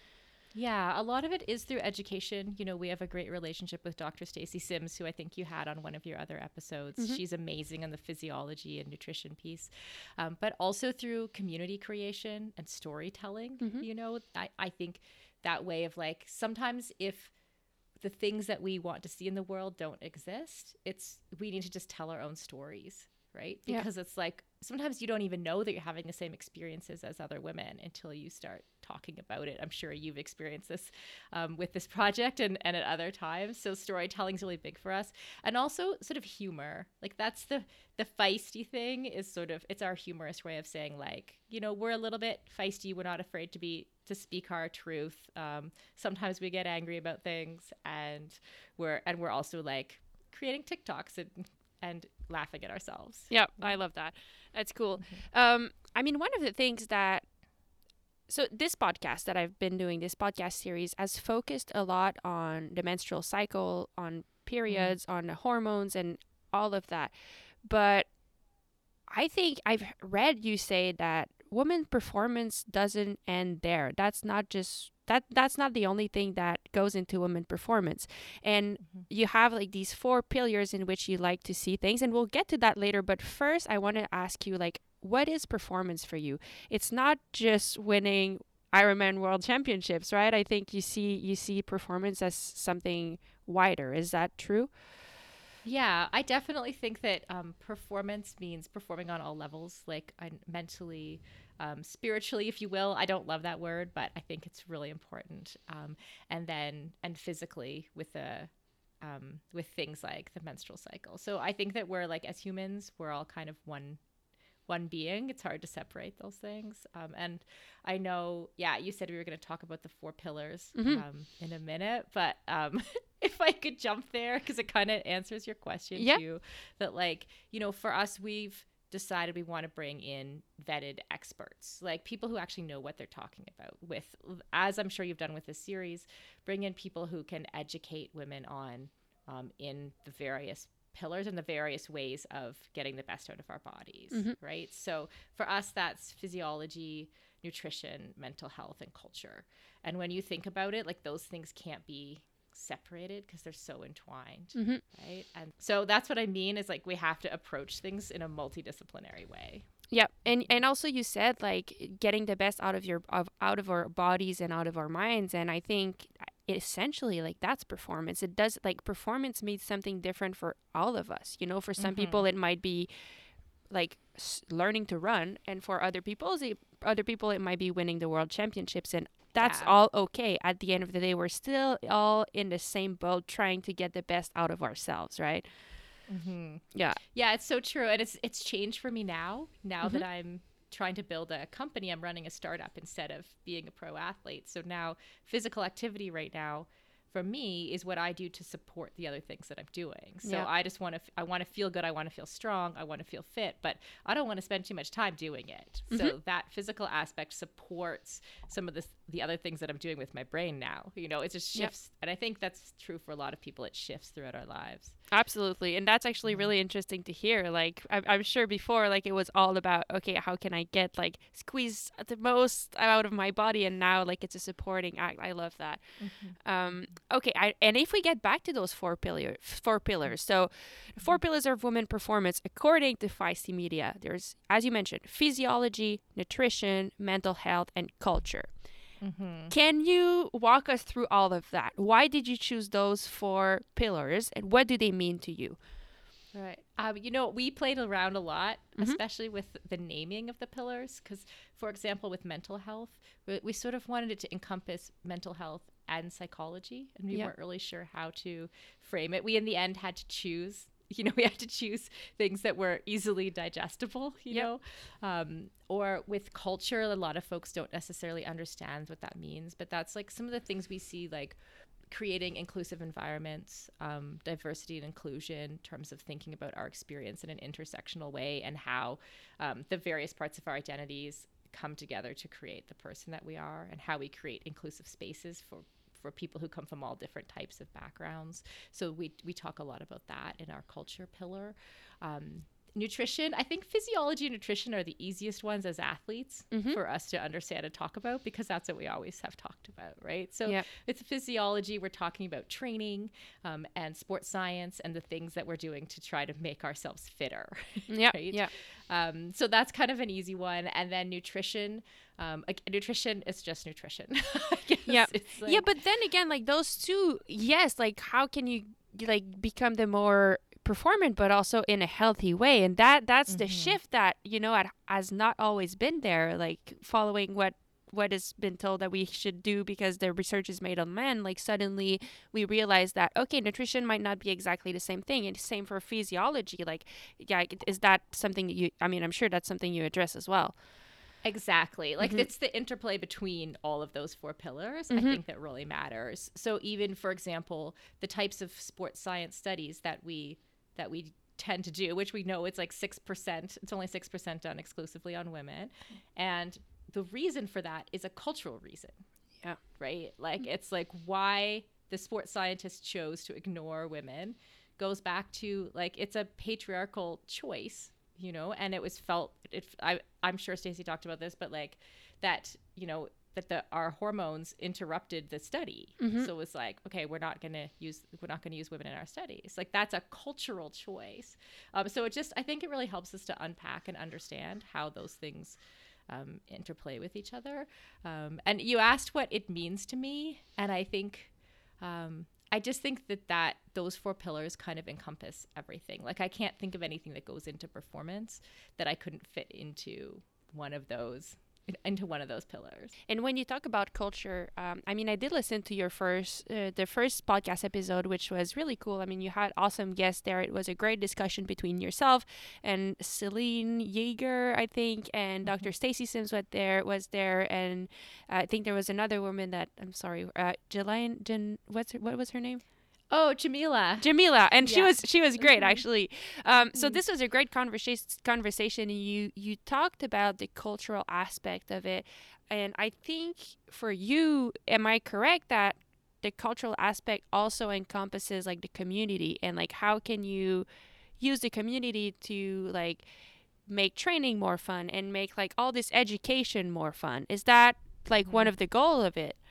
D: Yeah, a lot of it is through education. You know, we have a great relationship with Doctor Stacy Sims, who I think you had on one of your other episodes. Mm-hmm. She's amazing on the physiology and nutrition piece, um, but also through community creation and storytelling. Mm-hmm. You know, I, I think that way of like, sometimes if the things that we want to see in the world don't exist, it's we need to just tell our own stories, right? Because yeah. it's like, sometimes you don't even know that you're having the same experiences as other women until you start talking about it. I'm sure you've experienced this um, with this project and, and at other times. So storytelling is really big for us. And also sort of humor. Like that's the, the feisty thing is sort of, it's our humorous way of saying like, you know, we're a little bit feisty. We're not afraid to be, to speak our truth. Um, sometimes we get angry about things, and we're, and we're also like creating TikToks and, and laughing at ourselves.
C: Yeah, I love that. That's cool. Mm-hmm. Um, I mean, one of the things that, so this podcast that I've been doing, this podcast series, has focused a lot on the menstrual cycle, on periods, mm-hmm. on the hormones and all of that. But I think I've read you say that women's performance doesn't end there. That's not just that that's not the only thing that goes into women performance. And mm-hmm. you have like these four pillars in which you like to see things, and we'll get to that later. But first I want to ask you, like, what is performance for you? It's not just winning Ironman World Championships, right? I think you see you see performance as something wider. Is that true?
D: Yeah, I definitely think that um, performance means performing on all levels, like I, mentally, um, spiritually, if you will. I don't love that word, but I think it's really important. Um, and then, and physically with the, um, with things like the menstrual cycle. So I think that we're like, as humans, we're all kind of one, one being. It's hard to separate those things. Um, and I know, yeah, you said we were going to talk about the four pillars
C: Mm-hmm.
D: um, in a minute, but um, if I could jump there, because it kind of answers your question
C: Yeah.
D: too, that like, you know, for us, we've decided we want to bring in vetted experts, like people who actually know what they're talking about with, as I'm sure you've done with this series, bring in people who can educate women on um, in the various pillars and the various ways of getting the best out of our bodies,
C: Mhm.
D: right? So for us, that's physiology, nutrition, mental health, and culture. And when you think about it, like those things can't be separated because they're so entwined,
C: Mhm.
D: right? And so that's what I mean is like we have to approach things in a multidisciplinary way.
C: Yeah, and and also you said like getting the best out of your of out of our bodies and out of our minds, and I think essentially like that's performance. It does like performance means something different for all of us. You know, for some people it might be like s- learning to run, and for other people, it, other people it might be winning the world championships, and that's
D: Yeah.
C: all okay. At the end of the day, we're still all in the same boat, trying to get the best out of ourselves, right?
D: Mm-hmm.
C: Yeah.
D: Yeah, it's so true. And it's it's changed for me now. Now
C: Mm-hmm.
D: that I'm trying to build a company, I'm running a startup instead of being a pro athlete. So now physical activity right now for me is what I do to support the other things that I'm doing. So
C: Yeah.
D: I just want to f- I want to feel good, I want to feel strong, I want to feel fit, but I don't want to spend too much time doing it.
C: Mm-hmm.
D: So that physical aspect supports some of the the other things that I'm doing with my brain now. You know, it just
C: Yep.
D: shifts. And I think that's true for a lot of people. It shifts throughout our lives.
C: Absolutely. And that's actually really interesting to hear. Like, I'm, I'm sure before, like, it was all about, okay, how can I get, like, squeeze the most out of my body? And now, like, it's a supporting act. I love that. Um, okay. I, and if we get back to those four, pillar, four pillars, so four pillars of women performance, according to Feisty Media, there's, as you mentioned, physiology, nutrition, mental health, and culture.
D: Mm-hmm.
C: Can you walk us through all of that? Why did you choose those four pillars, and what do they mean to you?
D: Right. Um, you know, we played around a lot,
C: Mhm.
D: especially with the naming of the pillars. Because, for example, with mental health, we, we sort of wanted it to encompass mental health and psychology, and we
C: Yeah.
D: weren't really sure how to frame it. We, in the end, had to choose. You know, we had to choose things that were easily digestible, you
C: Yep.
D: know. Um, or with culture, a lot of folks don't necessarily understand what that means. But that's like some of the things we see, like creating inclusive environments, um, diversity and inclusion in terms of thinking about our experience in an intersectional way, and how um, the various parts of our identities come together to create the person that we are, and how we create inclusive spaces for for people who come from all different types of backgrounds. So we we talk a lot about that in our culture pillar. Um, nutrition, I think physiology and nutrition are the easiest ones as athletes
C: Mhm.
D: for us to understand and talk about, because that's what we always have talked about, right? So
C: Yep.
D: with physiology, we're talking about training um, and sports science and the things that we're doing to try to make ourselves fitter.
C: Yeah.
D: Right?
C: Yeah.
D: Um, so that's kind of an easy one. And then nutrition, um, like, nutrition is just nutrition. I guess.
C: Yeah.
D: It's
C: yeah,
D: like-
C: but then again, like those two, yes, like how can you like become the more performant, but also in a healthy way? And that that's the shift that you know at, has not always been there. Like following what what has been told that we should do because the research is made on men. Like suddenly we realize that okay, nutrition might not be exactly the same thing, and same for physiology. Like, yeah, is that something that you? I mean, I'm sure that's something you address as well.
D: Exactly. Like
C: Mhm.
D: it's the interplay between all of those four pillars,
C: Mhm.
D: I think, that really matters. So even, for example, the types of sports science studies that we that we tend to do, which we know it's like six percent, it's only six percent done exclusively on women. And the reason for that is a cultural reason.
C: Yeah.
D: Right? Like it's like why the sports scientists chose to ignore women goes back to like it's a patriarchal choice, you know, and it was felt it I I'm sure Stacey talked about this, but like that, you know, that the our hormones interrupted the study.
C: Mhm.
D: So it was like, okay, we're not going to use we're not going to use women in our studies. Like that's a cultural choice. Um, so it just I think it really helps us to unpack and understand how those things um, interplay with each other. Um, and you asked what it means to me, and I think um, I just think that that those four pillars kind of encompass everything. Like I can't think of anything that goes into performance that I couldn't fit into one of those into one of those pillars.
C: And when you talk about culture, um, I mean, I did listen to your first, uh, the first podcast episode, which was really cool. I mean, you had awesome guests there. It was a great discussion between yourself and Celine Yeager, I think, and mm-hmm. Doctor Stacy Sims was there, was there, and uh, I think there was another woman that I'm sorry, uh, Jelaine, Jen, what's her, what was her name?
D: Oh, Jamila.
C: Jamila, and yeah. she was she was great,
D: mm-hmm.
C: actually. Um, so mm-hmm. this was a great conversation. Conversation, and you you talked about the cultural aspect of it, and I think for you, am I correct that the cultural aspect also encompasses like the community, and like how can you use the community to like make training more fun and make like all this education more fun? Is that like mm-hmm. one of the goal of it?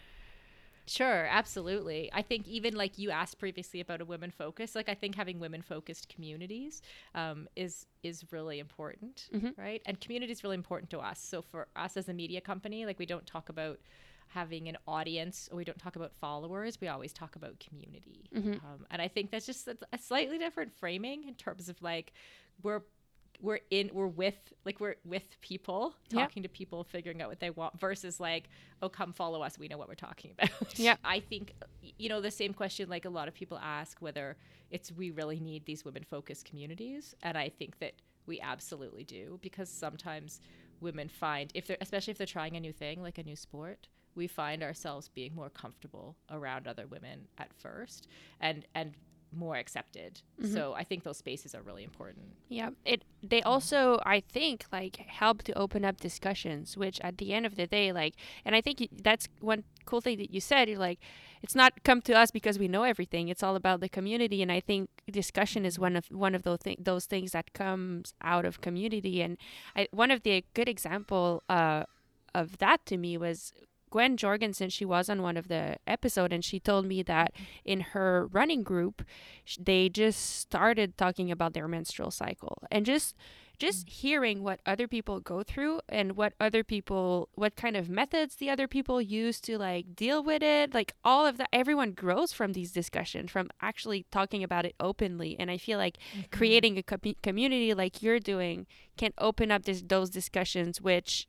D: Sure, absolutely. I think even like you asked previously about a women focus, like I think having women focused communities um, is is really important, mm-hmm. right? And community is really important to us. So for us as a media company, like we don't talk about having an audience or we don't talk about followers. We always talk about community. Mm-hmm. Um, and I think that's just a, a slightly different framing in terms of like we're we're in we're with like we're with people talking yep. to people, figuring out what they want, versus like, oh, come follow us, we know what we're talking about.
C: Yeah.
D: I think, you know, the same question like a lot of people ask whether it's we really need these women focused communities, and I think that we absolutely do, because sometimes women find, if they're especially if they're trying a new thing like a new sport, we find ourselves being more comfortable around other women at first and and more accepted. Mm-hmm. So I think those spaces are really important.
C: Yeah. It they also, I think, like help to open up discussions, which at the end of the day, like, and I think that's one cool thing that you said, you're like, it's not come to us because we know everything. It's all about the community. And I think discussion is one of one of those th- those things that comes out of community. And I, one of the good example uh, of that to me was Gwen Jorgensen. She was on one of the episode, and she told me that in her running group, sh- they just started talking about their menstrual cycle, and just just mm-hmm. hearing what other people go through and what other people, what kind of methods the other people use to like deal with it, like all of that. Everyone grows from these discussions, from actually talking about it openly. And I feel like mm-hmm. creating a co- community like you're doing can open up this, those discussions, which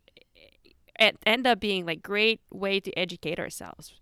C: it end up being like great way to educate ourselves.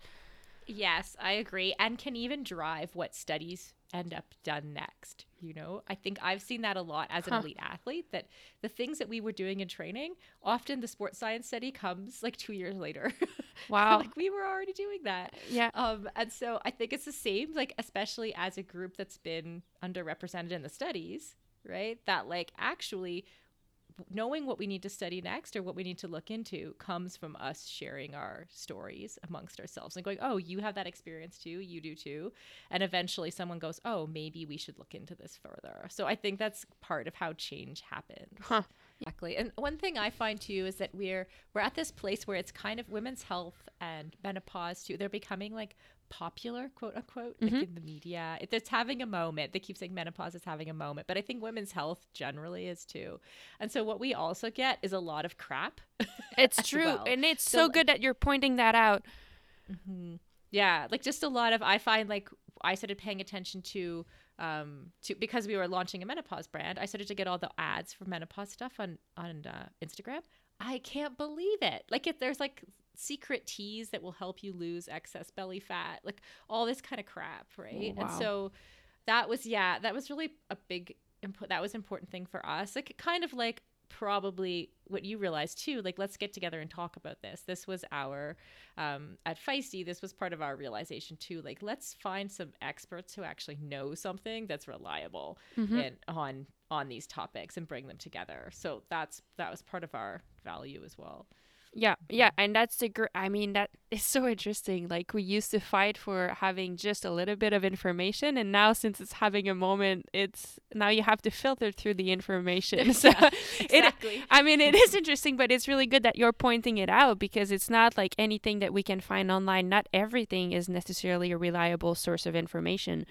D: Yes, I agree, and can even drive what studies end up done next. You know, I think I've seen that a lot as an huh. elite athlete, that the things that we were doing in training, often the sports science study comes like two years later.
C: Wow.
D: Like we were already doing that.
C: Yeah.
D: Um, and so I think it's the same, like especially as a group that's been underrepresented in the studies, right? That like actually knowing what we need to study next or what we need to look into comes from us sharing our stories amongst ourselves and going, oh, you have that experience too, you do too. And eventually someone goes, oh, maybe we should look into this further. So I think that's part of how change happens.
C: Huh.
D: Exactly. And one thing I find too is that we're we're at this place where it's kind of women's health and menopause too, they're becoming like popular, quote unquote, mm-hmm. like in the media. It, it's having a moment. They keep saying menopause is having a moment, but I think women's health generally is too. And so what we also get is a lot of crap.
C: It's true.
D: Well.
C: And it's
D: so,
C: so good that you're pointing that out.
D: Mm-hmm. Yeah. Like just a lot of, I find like I started paying attention to, um, to, because we were launching a menopause brand, I started to get all the ads for menopause stuff on, on uh, Instagram. I can't believe it. Like if there's like secret teas that will help you lose excess belly fat, like all this kind of crap, right?
C: Oh, wow.
D: And so that was, yeah, that was really a big input. That was an important thing for us. Like kind of like probably what you realized too, like let's get together and talk about this. This was our, um, at Feisty, this was part of our realization too. Like let's find some experts who actually know something that's reliable mm-hmm. and on on these topics and bring them together. So that's that was part of our value as well.
C: Yeah, yeah, and that's the gr- I mean, that is so interesting. Like we used to fight for having just a little bit of information, and now since it's having a moment, it's now you have to filter through the information. So
D: yeah, exactly.
C: It, I mean, it is interesting, but it's really good that you're pointing it out, because it's not like anything that we can find online. Not everything is necessarily a reliable source of information.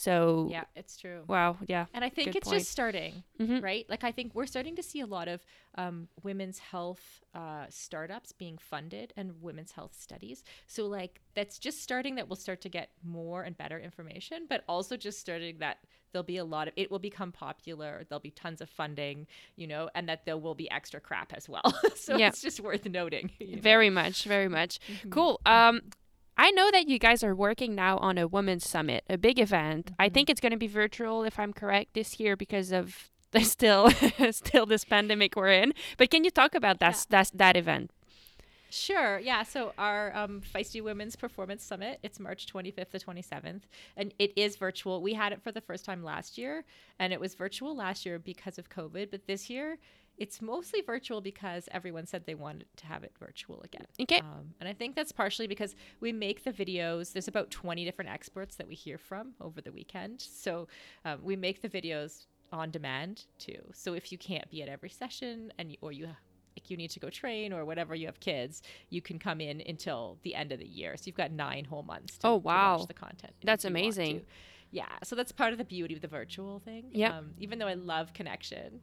C: So
D: yeah, it's true.
C: Wow, yeah,
D: and I think it's
C: point.
D: just starting, mm-hmm. right? Like I think we're starting to see a lot of um, women's health uh, startups being funded and women's health studies. So like that's just starting that we'll start to get more and better information, but also just starting that there'll be a lot of, it will become popular. There'll be tons of funding, you know, and that there will be extra crap as well. So
C: Yeah.
D: it's just worth noting. You know?
C: Very much, very much.
D: Mhm.
C: Cool. Um, I know that you guys are working now on a women's summit, a big event. I
D: Mhm.
C: think it's going to be virtual, if I'm correct, this year because of there's still still this pandemic we're in. But can you talk about that that that event?
D: Sure. Yeah. So our um, Feisty Women's Performance Summit, it's March twenty-fifth to twenty-seventh, and it is virtual. We had it for the first time last year, and it was virtual last year because of COVID. But this year, it's mostly virtual because everyone said they wanted to have it virtual again.
C: Okay.
D: Um, and I think that's partially because we make the videos. There's about twenty different experts that we hear from over the weekend. So um, we make the videos on demand too. So if you can't be at every session and you, or you like you need to go train or whatever, you have kids, you can come in until the end of the year. So you've got nine whole months to,
C: Oh,
D: to
C: wow.
D: watch the content. if
C: That's
D: you want
C: amazing.
D: to. Yeah. So that's part of the beauty of the virtual thing.
C: Yep.
D: Um, even though I love connection.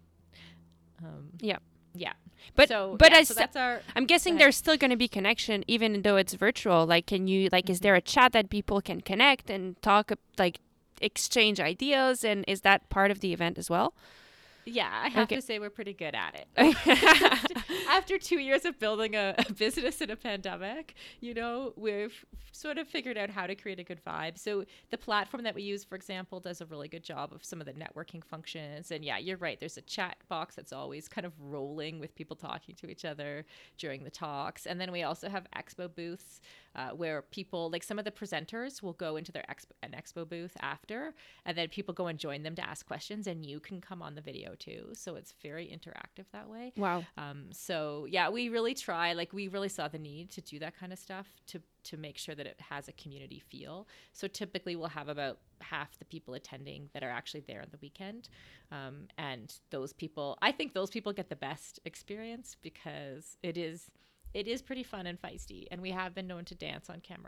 D: Um,
C: Yep.
D: Yeah.
C: But
D: so,
C: but
D: yeah,
C: I
D: so
C: s-
D: that's our
C: I'm guessing
D: Go ahead.
C: there's still going to be connection even though it's virtual. Like, can you like, is
D: Mhm.
C: there a chat that people can connect and talk, like, exchange ideas, and is that part of the event as well?
D: Yeah, I have
C: Okay.
D: to say we're pretty good at it. After two years of building a, a business in a pandemic, you know, we've sort of figured out how to create a good vibe. So the platform that we use, for example, does a really good job of some of the networking functions. And yeah, you're right. There's a chat box that's always kind of rolling with people talking to each other during the talks. And then we also have expo booths uh, where people, like some of the presenters will go into their expo, an expo booth after, and then people go and join them to ask questions, and you can come on the video too. So it's very interactive that way.
C: Wow.
D: Um, so yeah, we really try, like we really saw the need to do that kind of stuff to to make sure that it has a community feel. So typically we'll have about half the people attending that are actually there on the weekend. Um, and those people, I think those people get the best experience because it is it is pretty fun and feisty, and we have been known to dance on camera.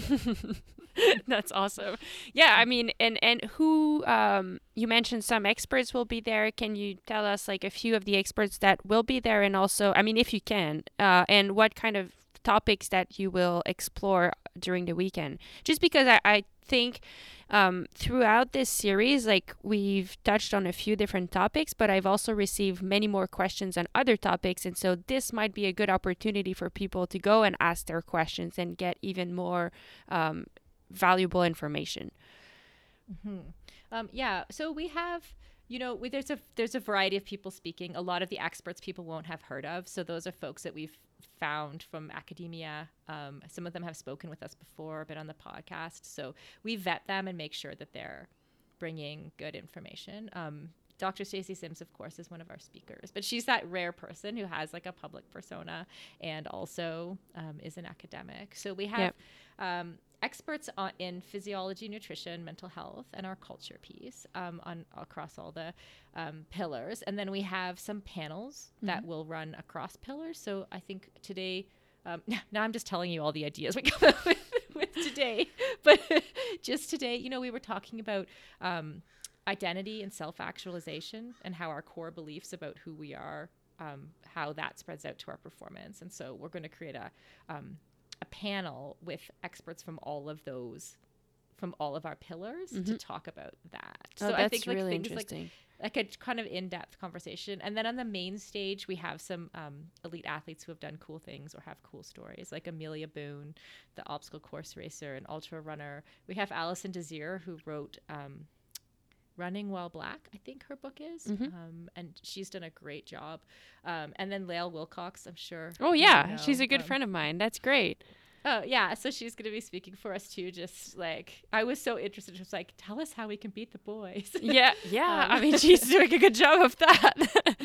C: That's awesome. Yeah, I mean, and and who um you mentioned some experts will be there. Can you tell us like a few of the experts that will be there, and also, I mean, if you can, uh, and what kind of topics that you will explore during the weekend? Just because I, I think um, throughout this series, like we've touched on a few different topics, but I've also received many more questions on other topics. And so this might be a good opportunity for people to go and ask their questions and get even more um, valuable information.
D: Mm-hmm. Um, yeah. So we have, you know, we, there's a there's a variety of people speaking. A lot of the experts people won't have heard of. So those are folks that we've found from academia. Um, some of them have spoken with us before, been on the podcast. So we vet them and make sure that they're bringing good information. Um, Doctor Stacey Sims, of course, is one of our speakers, but she's that rare person who has like a public persona and also um, is an academic. So we have
C: Yep.
D: um, experts on, in physiology, nutrition, mental health, and our culture piece um, on across all the um, pillars. And then we have some panels that will run across pillars. So I think today, um, now I'm just telling you all the ideas we come up with, with today, but just today, you know, we were talking about um, identity and self-actualization and how our core beliefs about who we are, um, how that spreads out to our performance. And so we're going to create a um, a panel with experts from all of those, from all of our pillars to
C: Mhm.
D: talk about that.
C: Oh,
D: so
C: that's
D: I think like
C: really
D: things
C: interesting.
D: like like a kind of in-depth conversation. And then on the main stage, we have some um, elite athletes who have done cool things or have cool stories, like Amelia Boone, the obstacle course racer and ultra runner. We have Alison Desir, who wrote um, Running While Black, I think her book is.
C: Mhm.
D: Um, and she's done a great job. Um, and then Lael Wilcox, I'm sure.
C: Oh,
D: you
C: yeah.
D: know,
C: She's a good
D: um,
C: friend of mine. That's great.
D: Oh, yeah. So she's going to be speaking for us too. Just like, I was so interested. Just like, tell us how we can beat the boys.
C: Yeah, yeah.
D: Um,
C: I mean, she's doing a good job of that.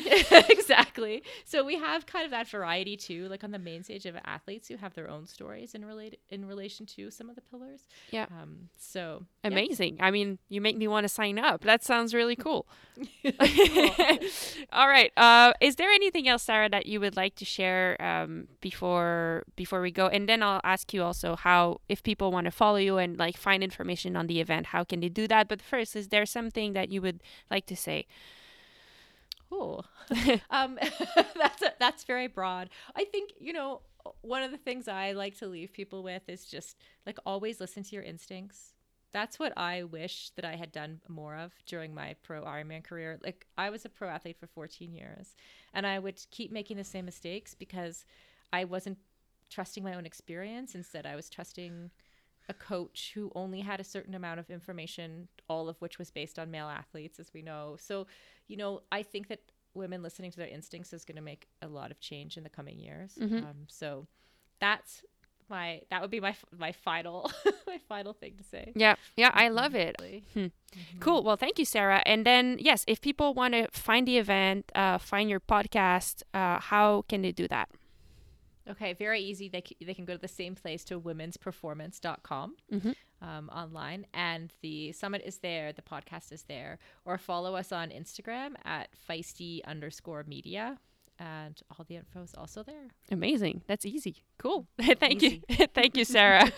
D: Exactly. So we have kind of that variety too, like on the main stage of athletes who have their own stories in relate in relation to some of the pillars.
C: Yeah.
D: Um, so yeah.
C: Amazing. I mean, you make me want to sign up. That sounds really cool.
D: Cool.
C: All right. Uh, is there anything else, Sarah, that you would like to share um, before before we go? And then I'll ask you also how, if people want to follow you and like find information on the event, how can they do that? But first, is there something that you would like to say?
D: Oh, um, that's a, that's very broad. I think, you know, one of the things I like to leave people with is just like always listen to your instincts. That's what I wish that I had done more of during my pro Ironman career. Like I was a pro athlete for fourteen years, and I would keep making the same mistakes because I wasn't trusting my own experience. Instead, I was trusting a coach who only had a certain amount of information, all of which was based on male athletes, as we know. So, you know, I think that women listening to their instincts is going to make a lot of change in the coming years.
C: Mm-hmm.
D: Um, so that's my, that would be my, my final, my final thing to say.
C: Yeah. Yeah. I love it. Hmm.
D: Mm-hmm.
C: Cool. Well, thank you, Sarah. And then, yes, if people want to find the event, uh, find your podcast, uh, how can they do that?
D: Okay, very easy. They, c- they can go to the same place, to womens performance dot com
C: Mm-hmm.
D: um, online, and the summit is there, the podcast is there, or follow us on Instagram at feisty underscore media, and all the info is also there.
C: Amazing. That's easy. Cool. Thank
D: Easy.
C: you. Thank you, Sarah.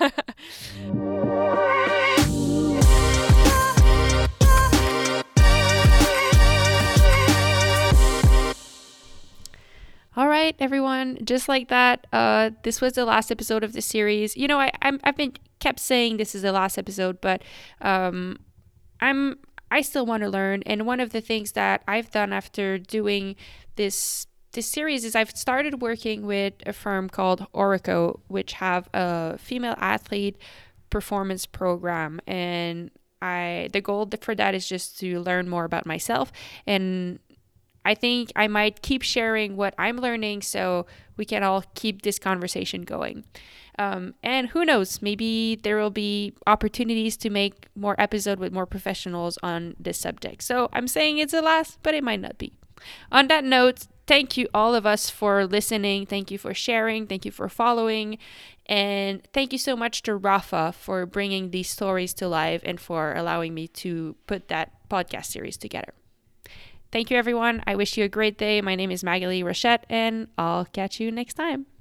C: All right, everyone. Just like that, uh, this was the last episode of the series. You know, I I'm, I've been kept saying this is the last episode, but um, I'm I still want to learn. And one of the things that I've done after doing this this series is I've started working with a firm called Orico, which have a female athlete performance program, and I the goal for that is just to learn more about myself, and I think I might keep sharing what I'm learning so we can all keep this conversation going. Um, and who knows, maybe there will be opportunities to make more episodes with more professionals on this subject. So I'm saying it's the last, but it might not be. On that note, thank you all of us for listening. Thank you for sharing. Thank you for following. And thank you so much to Rafa for bringing these stories to life and for allowing me to put that podcast series together. Thank you, everyone. I wish you a great day. My name is Magali Rochette, and I'll catch you next time.